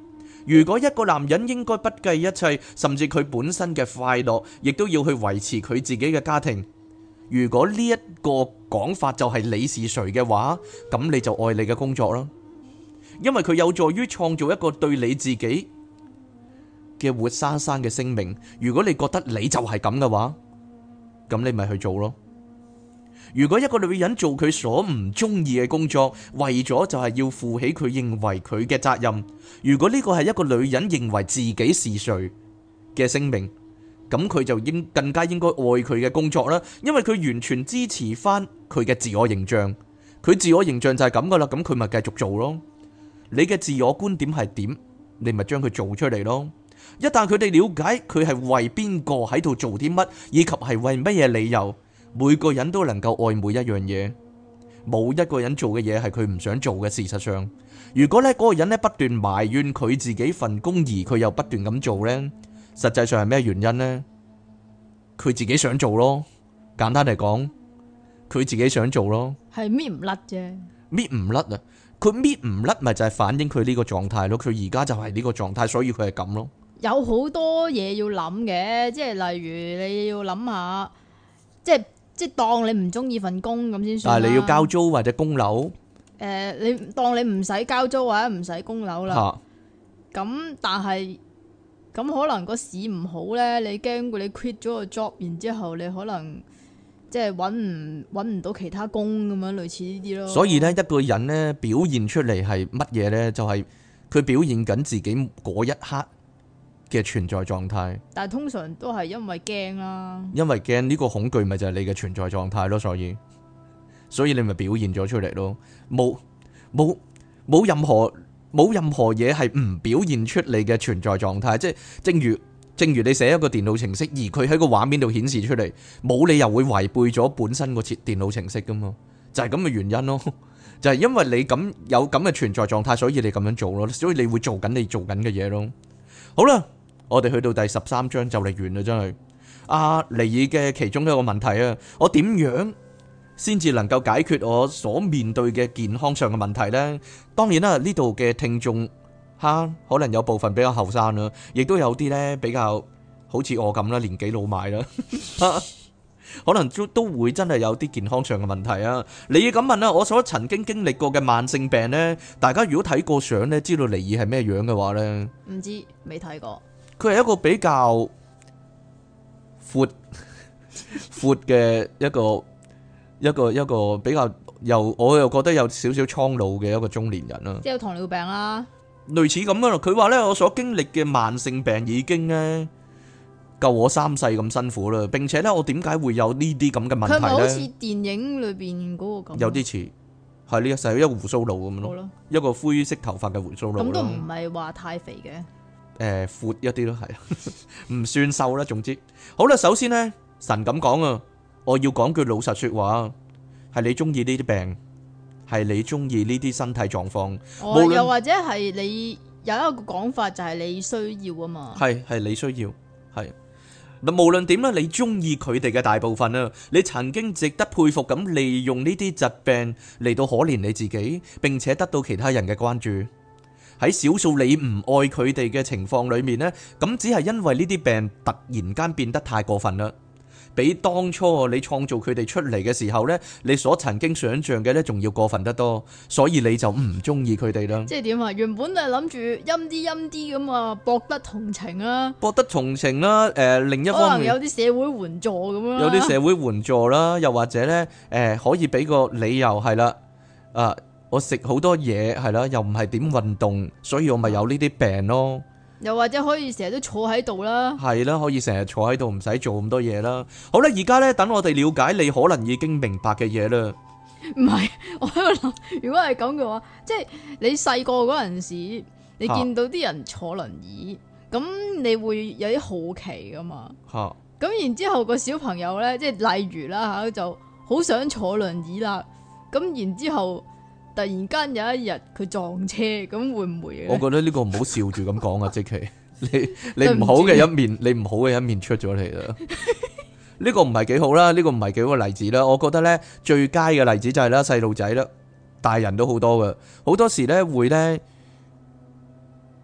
如果一個男人應該不計一切，甚至佢本身嘅快樂，亦都要去維持佢自己嘅家庭。如果呢一個講法就係你是誰嘅話，咁你就愛你嘅工作啦，因為佢有助於創造一個對你自己嘅活生生嘅聲明。如果你覺得你就係咁嘅話，咁你咪去做咯。如果一個女人做佢所唔中意嘅工作，為咗就係要負起佢認為佢嘅責任，如果呢個係一個女人認為自己是誰嘅聲明，咁佢就應更加應該愛佢嘅工作啦，因為佢完全支持翻佢嘅自我形象。佢自我形象就係咁噶啦，咁佢咪繼續做咯。你嘅自我觀點係點，你咪將佢做出嚟咯。一旦佢哋了解佢係為邊個喺度做啲乜，以及係為乜嘢理由，每個人都能夠愛每一樣嘢，冇一個人做嘅嘢係佢唔想做嘅。事實上，如果咧嗰個人咧不斷埋怨佢自己份工，而佢又不斷咁做呢，實際上係咩原因呢？佢自己想做咯。簡單嚟講，佢自己想做咯， 係搣唔甩啫， 搣唔甩啊！佢搣唔甩咪就係反映佢呢個狀態咯。佢而家就係呢個狀態，所以佢係咁咯。 有好多嘢要諗嘅，即係例如你要諗下，即係即係當你唔中意份工咁先算啦。 但係你要交租或者供樓， 誒、呃，你當你唔使交租或者唔使供樓啦。咁、啊、但係咁可能個市唔好咧，你驚過你 quit 咗個 job，然之後你可能即係揾唔揾唔到其他工咁樣，類似呢啲咯。 所以咧，一個人咧表現出嚟係乜嘢咧？就係、是、佢表現緊自己嗰一刻嘅存在狀態。但係通常都係因為驚啦， 因為驚呢個恐懼咪就係你嘅存在狀態咯。所以所以你咪表現咗出嚟咯。冇冇冇任何冇任何嘢係唔表現出你嘅存在狀態。即係正如正如你寫一個電腦程式，而佢喺個畫面度顯示出嚟，冇理由會違背咗本身個設電腦程式噶嘛。就係咁嘅原因咯。就係因為你咁有咁嘅存在狀態，所以你咁樣做咯。所以你會做緊你做緊嘅嘢咯。好啦，我哋去到第十三章就嚟完啦，真係。阿尼爾嘅其中一個問題啊，我點樣先至能夠解決我所面對嘅健康上嘅問題呢？當然啦，呢度嘅聽眾吓，可能有部分比較後生啦，亦都有啲呢比較好似我咁啦，年紀老邁啦，可能都都會真係有啲健康上嘅問題啊。尼爾咁問啦，我所曾經經歷過嘅慢性病呢，大家如果睇過相呢，知道尼爾係咩樣嘅話呢？ 唔知，未睇過。佢係一個比較闊闊嘅一個一個一個比較又我又覺得有少少蒼老嘅一個中年人啦， 即係有糖尿病啦， 類似咁樣咯。佢話咧，我所經歷嘅慢性病已經咧夠我三世咁辛苦啦，並且咧我點解會有呢啲咁嘅問題咧？佢係咪好似電影裏邊嗰個咁？ 有啲似係呢一世一個鬍鬚佬咁咯，一個灰色頭髮嘅鬍鬚佬。咁都唔係話太肥嘅。 誒、呃，闊一啲咯，係唔算瘦啦。總之，好啦，首先呢，神咁講啊，我要講句老實說話，係你中意呢啲病，係你中意呢啲身體狀況， 哦，又或者係你有一個講法就係你需要啊嘛，係係你需要，係嗱，無論點啦，你中意佢哋嘅大部分啊，你曾經值得佩服咁利用呢啲疾病嚟到可憐你自己，並且得到其他人嘅關注。喺少數你唔愛佢哋嘅情況裏面呢，咁只係因為呢啲病突然間變得太過分啦，比當初你創造佢哋出嚟嘅時候呢，你所曾經想象嘅呢，仲要過分得多，所以你就唔中意佢哋啦。即係點啊？原本係諗住陰啲陰啲咁啊，博得同情啊，博得同情啦。誒、呃，另一方面可能有啲社會援助咁樣，有啲社會援助啦，又或者呢，誒、呃，可以俾個理由係啦，啊。我食好多嘢係啦，又唔係點運動，所以我咪有呢啲病咯。又或者可以成日都坐喺度啦，係啦，可以成日坐喺度，唔使做咁多嘢啦。好啦，而家咧等我哋了解你可能已經明白嘅嘢啦。唔係，我喺度諗，如果係咁嘅話，即係你細個嗰陣時，你見到啲人坐輪椅，咁、啊、你會有啲好奇噶嘛？吓、啊，咁然之後個小朋友咧，即係例如啦吓，就好想坐輪椅啦，咁然之後。突然間有一日佢撞車，咁會唔會？我覺得呢個唔好笑住咁講啊，即其你你唔好嘅一面，你唔好嘅一面出咗嚟啦。呢個唔係幾好啦，呢個唔係幾好嘅例子啦。我覺得咧最佳嘅例子就係啦，細路仔啦，大人都好多噶，好多時咧會咧，佢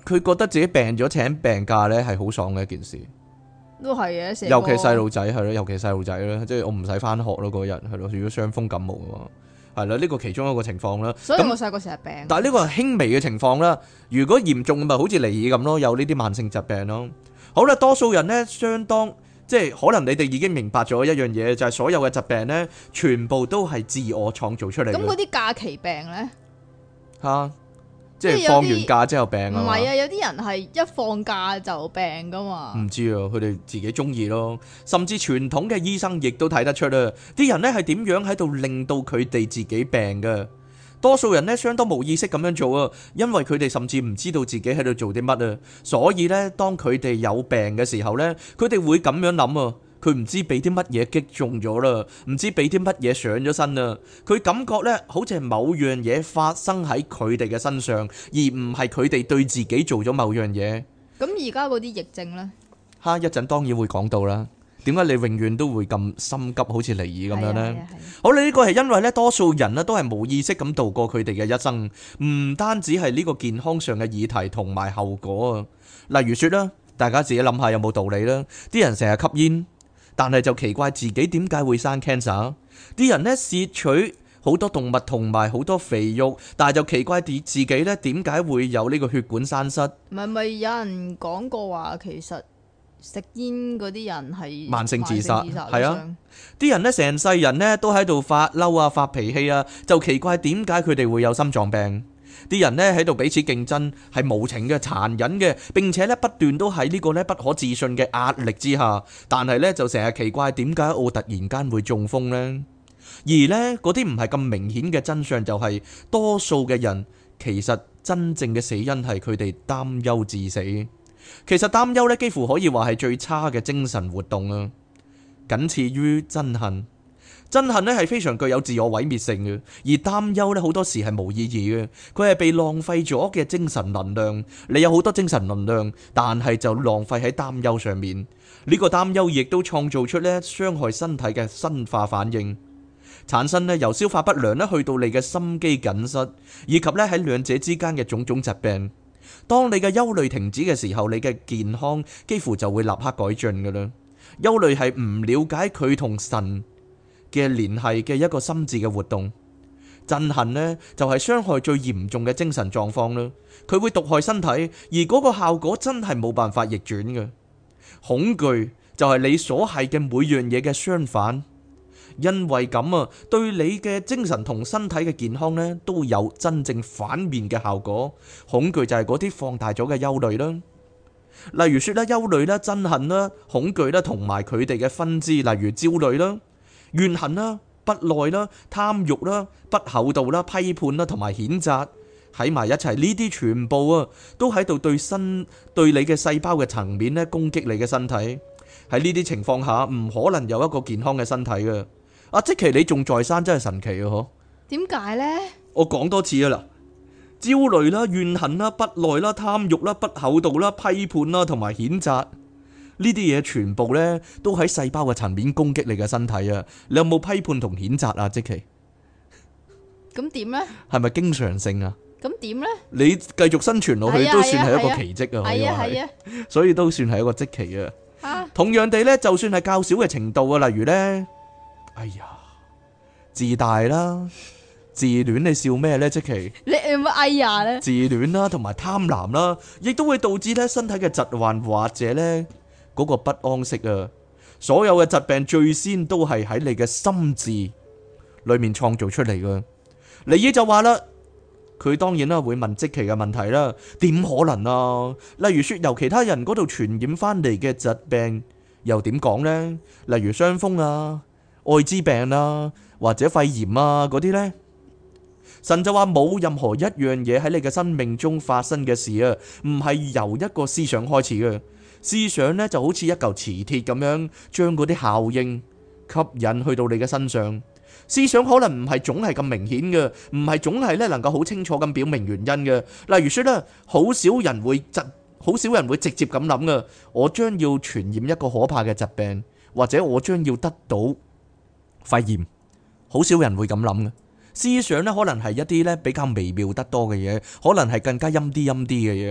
佢覺得自己病咗請病假呢係好爽嘅一件事， 都係嘅，成個尤其細路仔係咯，尤其細路仔啦，即係我唔使翻學咯嗰日係咯，如果傷風感冒嘅話，係啦，呢個其中一個情況啦。 所以我細個成日病。 但係呢個係輕微嘅情況啦，如果嚴重咪好似尼爾咁咯，有呢啲慢性疾病咯。好啦，多數人呢，相當即係可能你哋已經明白咗一樣嘢，就係所有嘅疾病呢，全部都係自我創造出嚟嘅。 咁嗰啲假期病咧？ 嚇！即係放完假之後病啊？ 唔係啊，有啲人係一放假就病噶嘛。 唔知啊，佢哋自己中意咯。甚至傳統嘅醫生亦都睇得出啊，啲人呢係點樣喺度令到佢哋自己病嘅。多數人呢相當冇意識咁樣做啊，因為佢哋甚至唔知道自己喺度做啲乜啊。所以呢，當佢哋有病嘅時候呢，佢哋會咁樣諗啊。佢唔知俾啲乜嘢擊中咗啦，唔知俾啲乜嘢上咗身啊。佢感覺呢，好似係某樣嘢發生喺佢哋嘅身上，而唔係佢哋對自己做咗某樣嘢。 咁而家嗰啲疫症呢？ 哈，一陣當然會講到啦。點解你永遠都會咁心急，好似尼爾咁樣呢？好，你呢個係因為呢，多數人呢都係冇意識咁度過佢哋嘅一生，唔單止係呢個健康上嘅議題同埋後果啊。例如說啦，大家自己諗下有冇道理啦。啲人成日吸煙，但係就奇怪自己點解會生 cancer。啲人呢攝取好多動物同埋好多肥肉，但係就奇怪自自己呢點解會有呢個血管栓塞。 唔係咪有人講過話，其實食煙嗰啲人係慢性自殺，係啊！啲啲人呢成世人呢都喺度發嬲啊、發脾氣啊，就奇怪點解佢哋會有心臟病。啲人呢喺度彼此競爭，係無情嘅、殘忍嘅，並且呢不斷都喺呢個呢不可置信嘅壓力之下。但係呢就成日奇怪點解我突然間會中風呢？而呢嗰啲唔係咁明顯嘅真相就係，多數嘅人其實真正嘅死因係佢哋擔憂致死。其實擔憂呢幾乎可以話係最差嘅精神活動啊，僅次於憎恨。憎恨呢係非常具有自我毀滅性嘅，而擔憂呢好多時係冇意義嘅，佢係被浪費咗嘅精神能量。你有好多精神能量，但係就浪費喺擔憂上面。呢個擔憂亦都創造出呢傷害身體嘅生化反應，產生呢由消化不良呢去到你嘅心肌梗塞，以及呢喺兩者之間嘅種種疾病。當你嘅憂慮停止嘅時候，你嘅健康幾乎就會立刻改進㗎喇。憂慮係唔了解佢同神嘅聯繫嘅一個心智嘅活動。憎恨呢就係傷害最嚴重嘅精神狀況啦，佢會毒害身體，而嗰個效果真係冇辦法逆轉嘅。恐懼就係你所係嘅每樣嘢嘅相反，因為咁啊，對你嘅精神同身體嘅健康呢都有真正反面嘅效果。恐懼就係嗰啲放大咗嘅憂慮啦，例如說咧憂慮啦、憎恨啦、恐懼啦，同埋佢哋嘅分支，例如焦慮啦、怨恨啦、不耐啦、貪欲啦、不厚道啦、批判啦，同埋譴責喺埋一齊，呢啲全部啊都喺度對身對你嘅細胞嘅層面咧攻擊你嘅身體。喺呢啲情況下，唔可能有一個健康嘅身體嘅。阿即其你仲在生真係神奇啊！嗬？ 點解呢？ 我講多次啊啦，焦慮啦、怨恨啦、不耐啦、貪欲啦、不厚道啦、批判啦，同埋譴責呢啲嘢，全部呢都喺細胞嘅層面攻擊你嘅身體啊！你有冇批判同譴責啊？即其咁點呢？ 係咪經常性啊？ 咁點呢？ 你繼續生存落去都算係一個奇蹟啊！ 係啊係啊， 所以都算係一個即奇啊！ 啊同樣地呢，就算係較少嘅程度啊，例如呢，哎呀，自大啦、自戀，你笑咩呢？即其你有冇哎呀呢？ 自戀啦，同埋貪婪啦，亦都會導致呢身體嘅疾患或者呢嗰個不安息啊！所有嘅疾病最先都係喺你嘅心智裏面創造出嚟噶。尼爾就話啦，佢當然啦會問即奇嘅問題啦，點可能啊？例如說由其他人嗰度傳染翻嚟嘅疾病，又點講呢？例如傷風啊、艾滋病啊，或者肺炎啊嗰啲呢？神就話冇任何一樣嘢喺你嘅生命中發生嘅事啊，唔係由一個思想開始嘅。思想呢就好似一嚿磁鐵咁樣，將嗰啲效應吸引去到你嘅身上。思想可能唔係總係咁明顯嘅，唔係總係咧能夠好清楚咁表明原因嘅。例如說咧，好少人會直，好少人會直接咁諗嘅。我將要傳染一個可怕嘅疾病，或者我將要得到肺炎，好少人會咁諗嘅。思想咧可能係一啲咧比較微妙得多嘅嘢，可能係更加陰啲陰啲嘅嘢。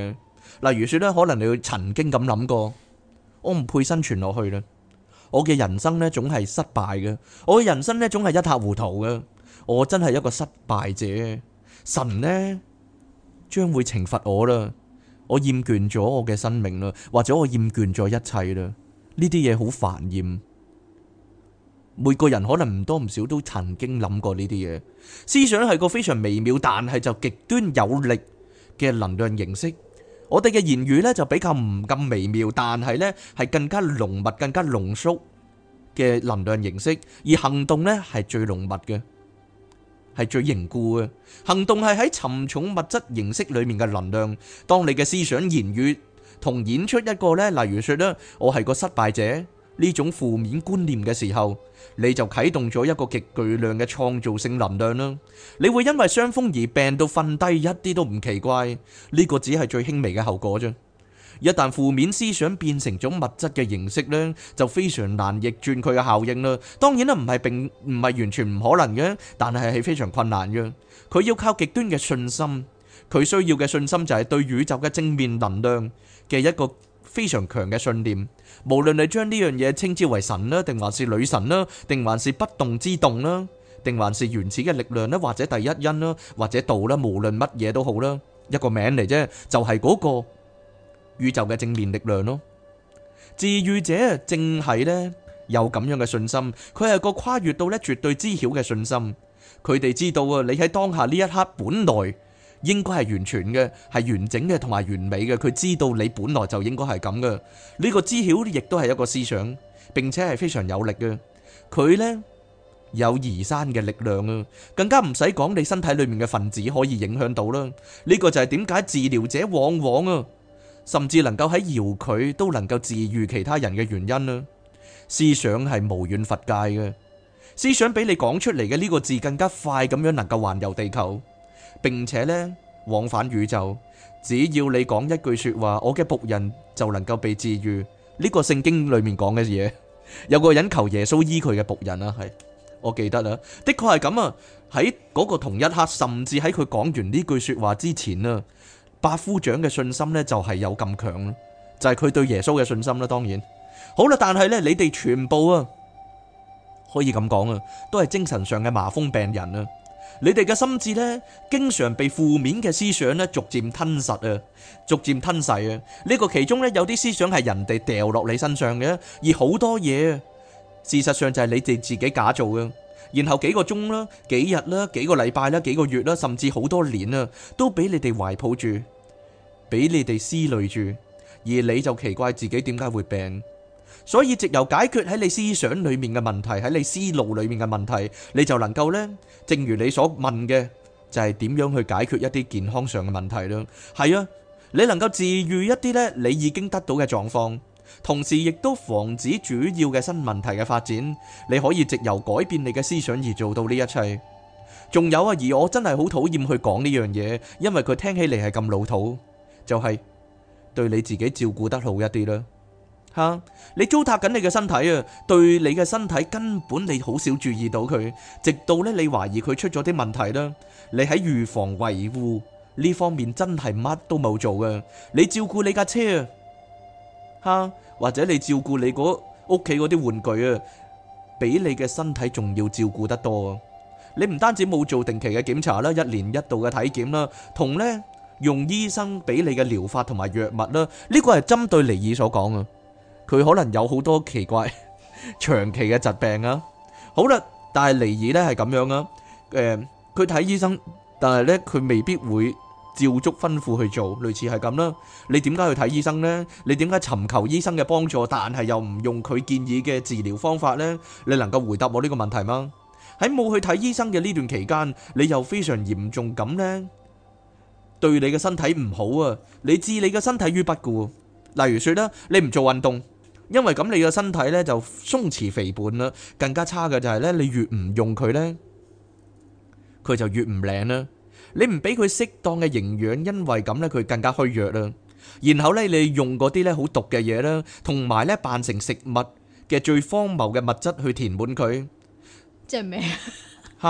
例如說咧，可能你會曾經咁諗過，我唔配生存落去啦，我嘅人生咧總係失敗嘅，我嘅人生咧總係一塌糊塗嘅，我真係一個失敗者，神呢將會懲罰我啦，我厭倦咗我嘅生命啦，或者我厭倦咗一切啦，呢啲嘢好煩厭。每個人可能唔多唔少都曾經諗過呢啲嘢。思想係個非常微妙，但係就極端有力嘅能量形式。我哋嘅言語呢就比較唔咁微妙，但係呢係更加濃密、更加濃縮嘅能量形式。而行動呢係最濃密嘅，係最凝固嘅。行動係喺沉重物質形式裏面嘅能量。當你嘅思想、言語同演出一個呢，例如說呢，我係個失敗者呢種負面觀念嘅時候，你就啟動咗一個極巨量嘅創造性能量啦。你會因為傷風而病到瞓低，一啲都唔奇怪。呢個只係最輕微嘅後果啫。一旦負面思想變成咗物質嘅形式呢，就非常難逆轉佢嘅效應啦。當然啦，唔係並唔係完全唔可能嘅，但係係非常困難嘅。佢要靠極端嘅信心，佢需要嘅信心就係對宇宙嘅正面能量嘅一個非常強嘅信念。無論你將呢樣嘢稱之為神啦，定還是女神啦，定還是不動之動啦，定還是原始嘅力量啦，或者第一因啦，或者道啦，無論乜嘢都好啦，一個名嚟啫，就係嗰個宇宙嘅正面力量咯。治癒者正係呢有咁樣嘅信心，佢係個跨越到呢絕對知曉嘅信心。佢哋知道啊，你喺當下呢一刻本來應該係完全嘅，係完整嘅同埋完美嘅。佢知道你本來就應該係咁嘅。呢個知曉亦都係一個思想，並且係非常有力嘅。佢呢有移山嘅力量啊，更加唔使講你身體裏面嘅分子可以影響到啦。呢個就係點解治療者往往啊，甚至能夠喺遙距都能夠治癒其他人嘅原因啦。思想係無遠弗屆嘅，思想比你講出嚟嘅呢個字更加快咁樣能夠環遊地球，並且呢往返宇宙。只要你講一句說話，我嘅僕人就能夠被治癒。呢個聖經裏面講嘅嘢，有個人求耶穌醫佢嘅僕人啊，係我記得啦，的確係咁啊。喺嗰個同一刻，甚至喺佢講完呢句說話之前啊，百夫長嘅信心呢就係有咁強啦，就係佢對耶穌嘅信心啦。當然好啦，但係呢，你哋全部啊，可以咁講啊，都係精神上嘅麻風病人啊。你哋嘅心智呢，經常被負面嘅思想呢逐漸吞噬啊，逐漸吞噬啊。呢個其中呢，有啲思想係人哋掉落你身上嘅，而好多嘢事實上就係你哋自己假造嘅。然後幾個鐘啦、幾日啦、幾個禮拜啦、幾個月啦，甚至好多年啊，都俾你哋懷抱住，俾你哋思慮住，而你就奇怪自己點解會病。所以藉由解決喺你思想裏面嘅問題，喺你思路裏面嘅問題，你就能夠呢，正如你所問嘅，就係點樣去解決一啲健康上嘅問題啦。係啊，你能夠治癒一啲呢你已經得到嘅狀況，同時亦都防止主要嘅新問題嘅發展。你可以藉由改變你嘅思想而做到呢一切。仲有啊，而我真係好討厭去講呢樣嘢，因為佢聽起嚟係咁老土，就係對你自己照顧得好一啲啦。吓，你糟蹋緊你嘅身體啊，對你嘅身體根本你好少注意到佢，直到咧你懷疑佢出咗啲問題啦。你喺預防維護呢方面真係乜都冇做嘅。你照顧你架車啊，吓，或者你照顧你嗰屋企嗰啲玩具啊，比你嘅身體仲要照顧得多啊。你唔單止冇做定期嘅檢查啦，一年一度嘅體檢啦，同呢用醫生俾你嘅療法同埋藥物啦，呢個係針對尼爾所講啊。佢可能有好多奇怪長期嘅疾病啊。好啦，但係尼爾呢係咁樣啊。誒，佢睇醫生，但係呢佢未必會照足吩咐去做，類似係咁啦。你點解去睇醫生呢？你點解尋求醫生嘅幫助，但係又唔用佢建議嘅治療方法呢？你能夠回答我呢個問題嗎？喺冇去睇醫生嘅呢段期間，你又非常嚴重咁呢，對你嘅身體唔好啊！你置你嘅身體於不顧。例如說啦，你唔做運動。因為咁你嘅身體咧就鬆弛肥胖啦，更加差嘅就係咧，你越唔用佢咧，佢就越唔靚啦。你唔俾佢適當嘅營養，因為咁咧佢更加虛弱啦。然後咧你用嗰啲咧好毒嘅嘢啦，同埋咧扮成食物嘅最荒謬嘅物質去填滿佢。 即係咩？ 吓，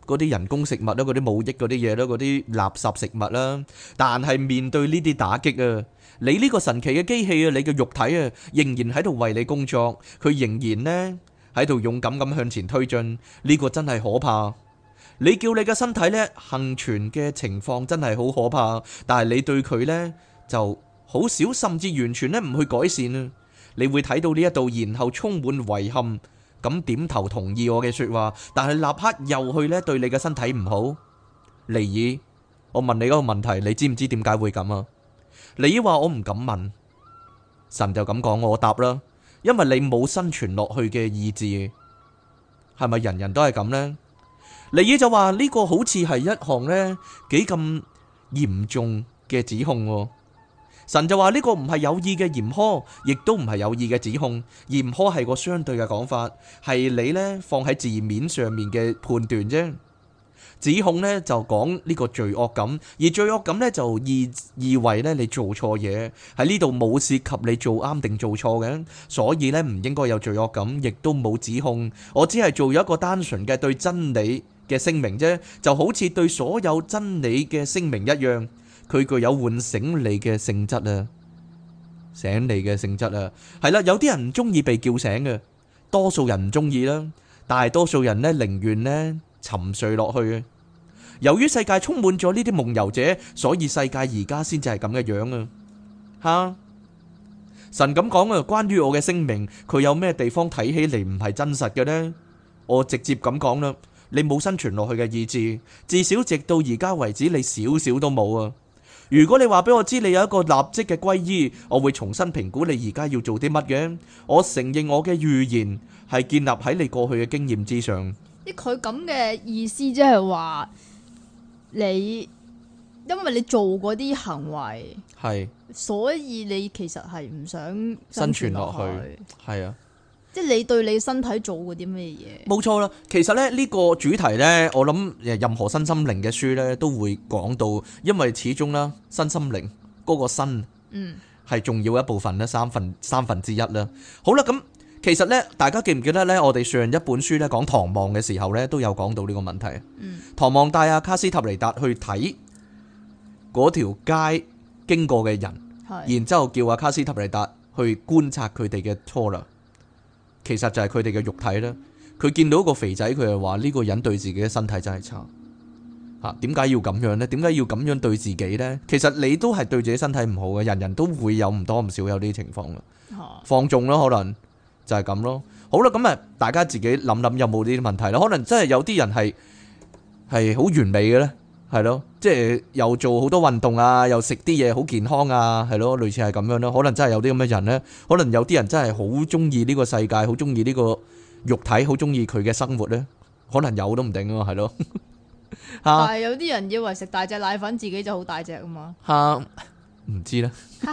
嗰啲人工食物啦，嗰啲冇益嗰啲嘢啦，嗰啲垃圾食物啦。但係面對呢啲打擊啊，你呢個神奇嘅機器啊，你嘅肉體啊，仍然喺度為你工作，佢仍然呢喺度勇敢咁向前推進。呢個真係可怕。你叫你嘅身體呢幸存嘅情況真係好可怕，但係你對佢呢就好少，甚至完全呢唔去改善啊。你會睇到呢一度，然後充滿遺憾咁點頭同意我嘅說話，但係立刻又去呢對你嘅身體唔好。尼爾，我問你嗰個問題，你知唔知點解會咁啊？尼爾話我唔敢問，神就咁講，我答啦，因為你冇生存落去嘅意志。係咪人人都係咁呢？尼爾就話呢個好似係一項呢幾咁嚴重嘅指控喎。神就話呢個唔係有意嘅嚴苛，亦都唔係有意嘅指控。嚴苛係個相對嘅講法，係你呢放喺字面上面嘅判斷啫。指控呢就講呢個罪惡感，而罪惡感呢就意意為呢你做錯嘢。喺呢度冇涉及你做啱定做錯嘅，所以呢唔應該有罪惡感，亦都冇指控。我只係做咗一個單純嘅對真理嘅聲明啫，就好似對所有真理嘅聲明一樣。佢具有喚醒你嘅性質啊，醒你嘅性質啊，係啦，有啲人唔中意被叫醒嘅，多數人唔中意啦，大多數人呢寧願呢沉睡落去嘅。由於世界充滿咗呢啲夢遊者，所以世界而家先至係咁嘅樣啊！吓，神咁講啊，關於我嘅聲明，佢有咩地方睇起嚟唔係真實嘅呢？我直接咁講啦，你冇生存落去嘅意志，至少直到而家為止，你少少都冇啊！如果你話俾我知你有一個立即嘅歸依，我會重新評估你而家要做啲乜嘅。我承認我嘅預言係建立喺你過去嘅經驗之上。 即佢咁嘅意思，即係話你因為你做嗰啲行為，係，所以你其實係唔想生存落去。係啊。即係你對你身體做過啲咩嘢？冇錯啦，其實咧呢個主題呢，我諗任何身心靈嘅書呢都會講到，因為始終啦，身心靈嗰個身，嗯，係重要一部分咧，三分三分之一啦。好啦，咁其實呢，大家記唔記得呢？我哋上一本書咧講唐望嘅時候呢，都有講到呢個問題。嗯，唐望帶阿卡斯塔尼達去睇嗰條街經過嘅人，然之後叫阿卡斯塔尼達去觀察佢哋嘅錯啦。其實就係佢哋嘅肉體啦。佢見到個肥仔，佢就話呢個人對自己嘅身體真係差吓。點解要咁樣呢？點解要咁樣對自己呢？其實你都係對自己身體唔好嘅，人人都會有唔多唔少有呢啲情況嘅。放縱咯，可能就係咁咯。好啦，咁啊，大家自己諗諗有冇呢啲問題啦。可能真係有啲人係係好完美嘅呢，係咯，即係又做好多運動啊，又食啲嘢好健康啊，係咯，類似係咁樣咯。可能真係有啲咁嘅人呢，可能有啲人真係好中意呢個世界，好中意呢個肉體，好中意佢嘅生活呢，可能有都唔定啊，係咯。但係有啲人以為食大隻奶粉自己就好大隻啊嘛。吓，唔知啦。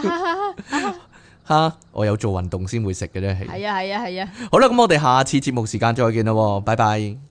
吓，我有做運動先會食嘅啫。係啊係啊係啊。好啦，咁我哋下次節目時間再見啦，拜拜。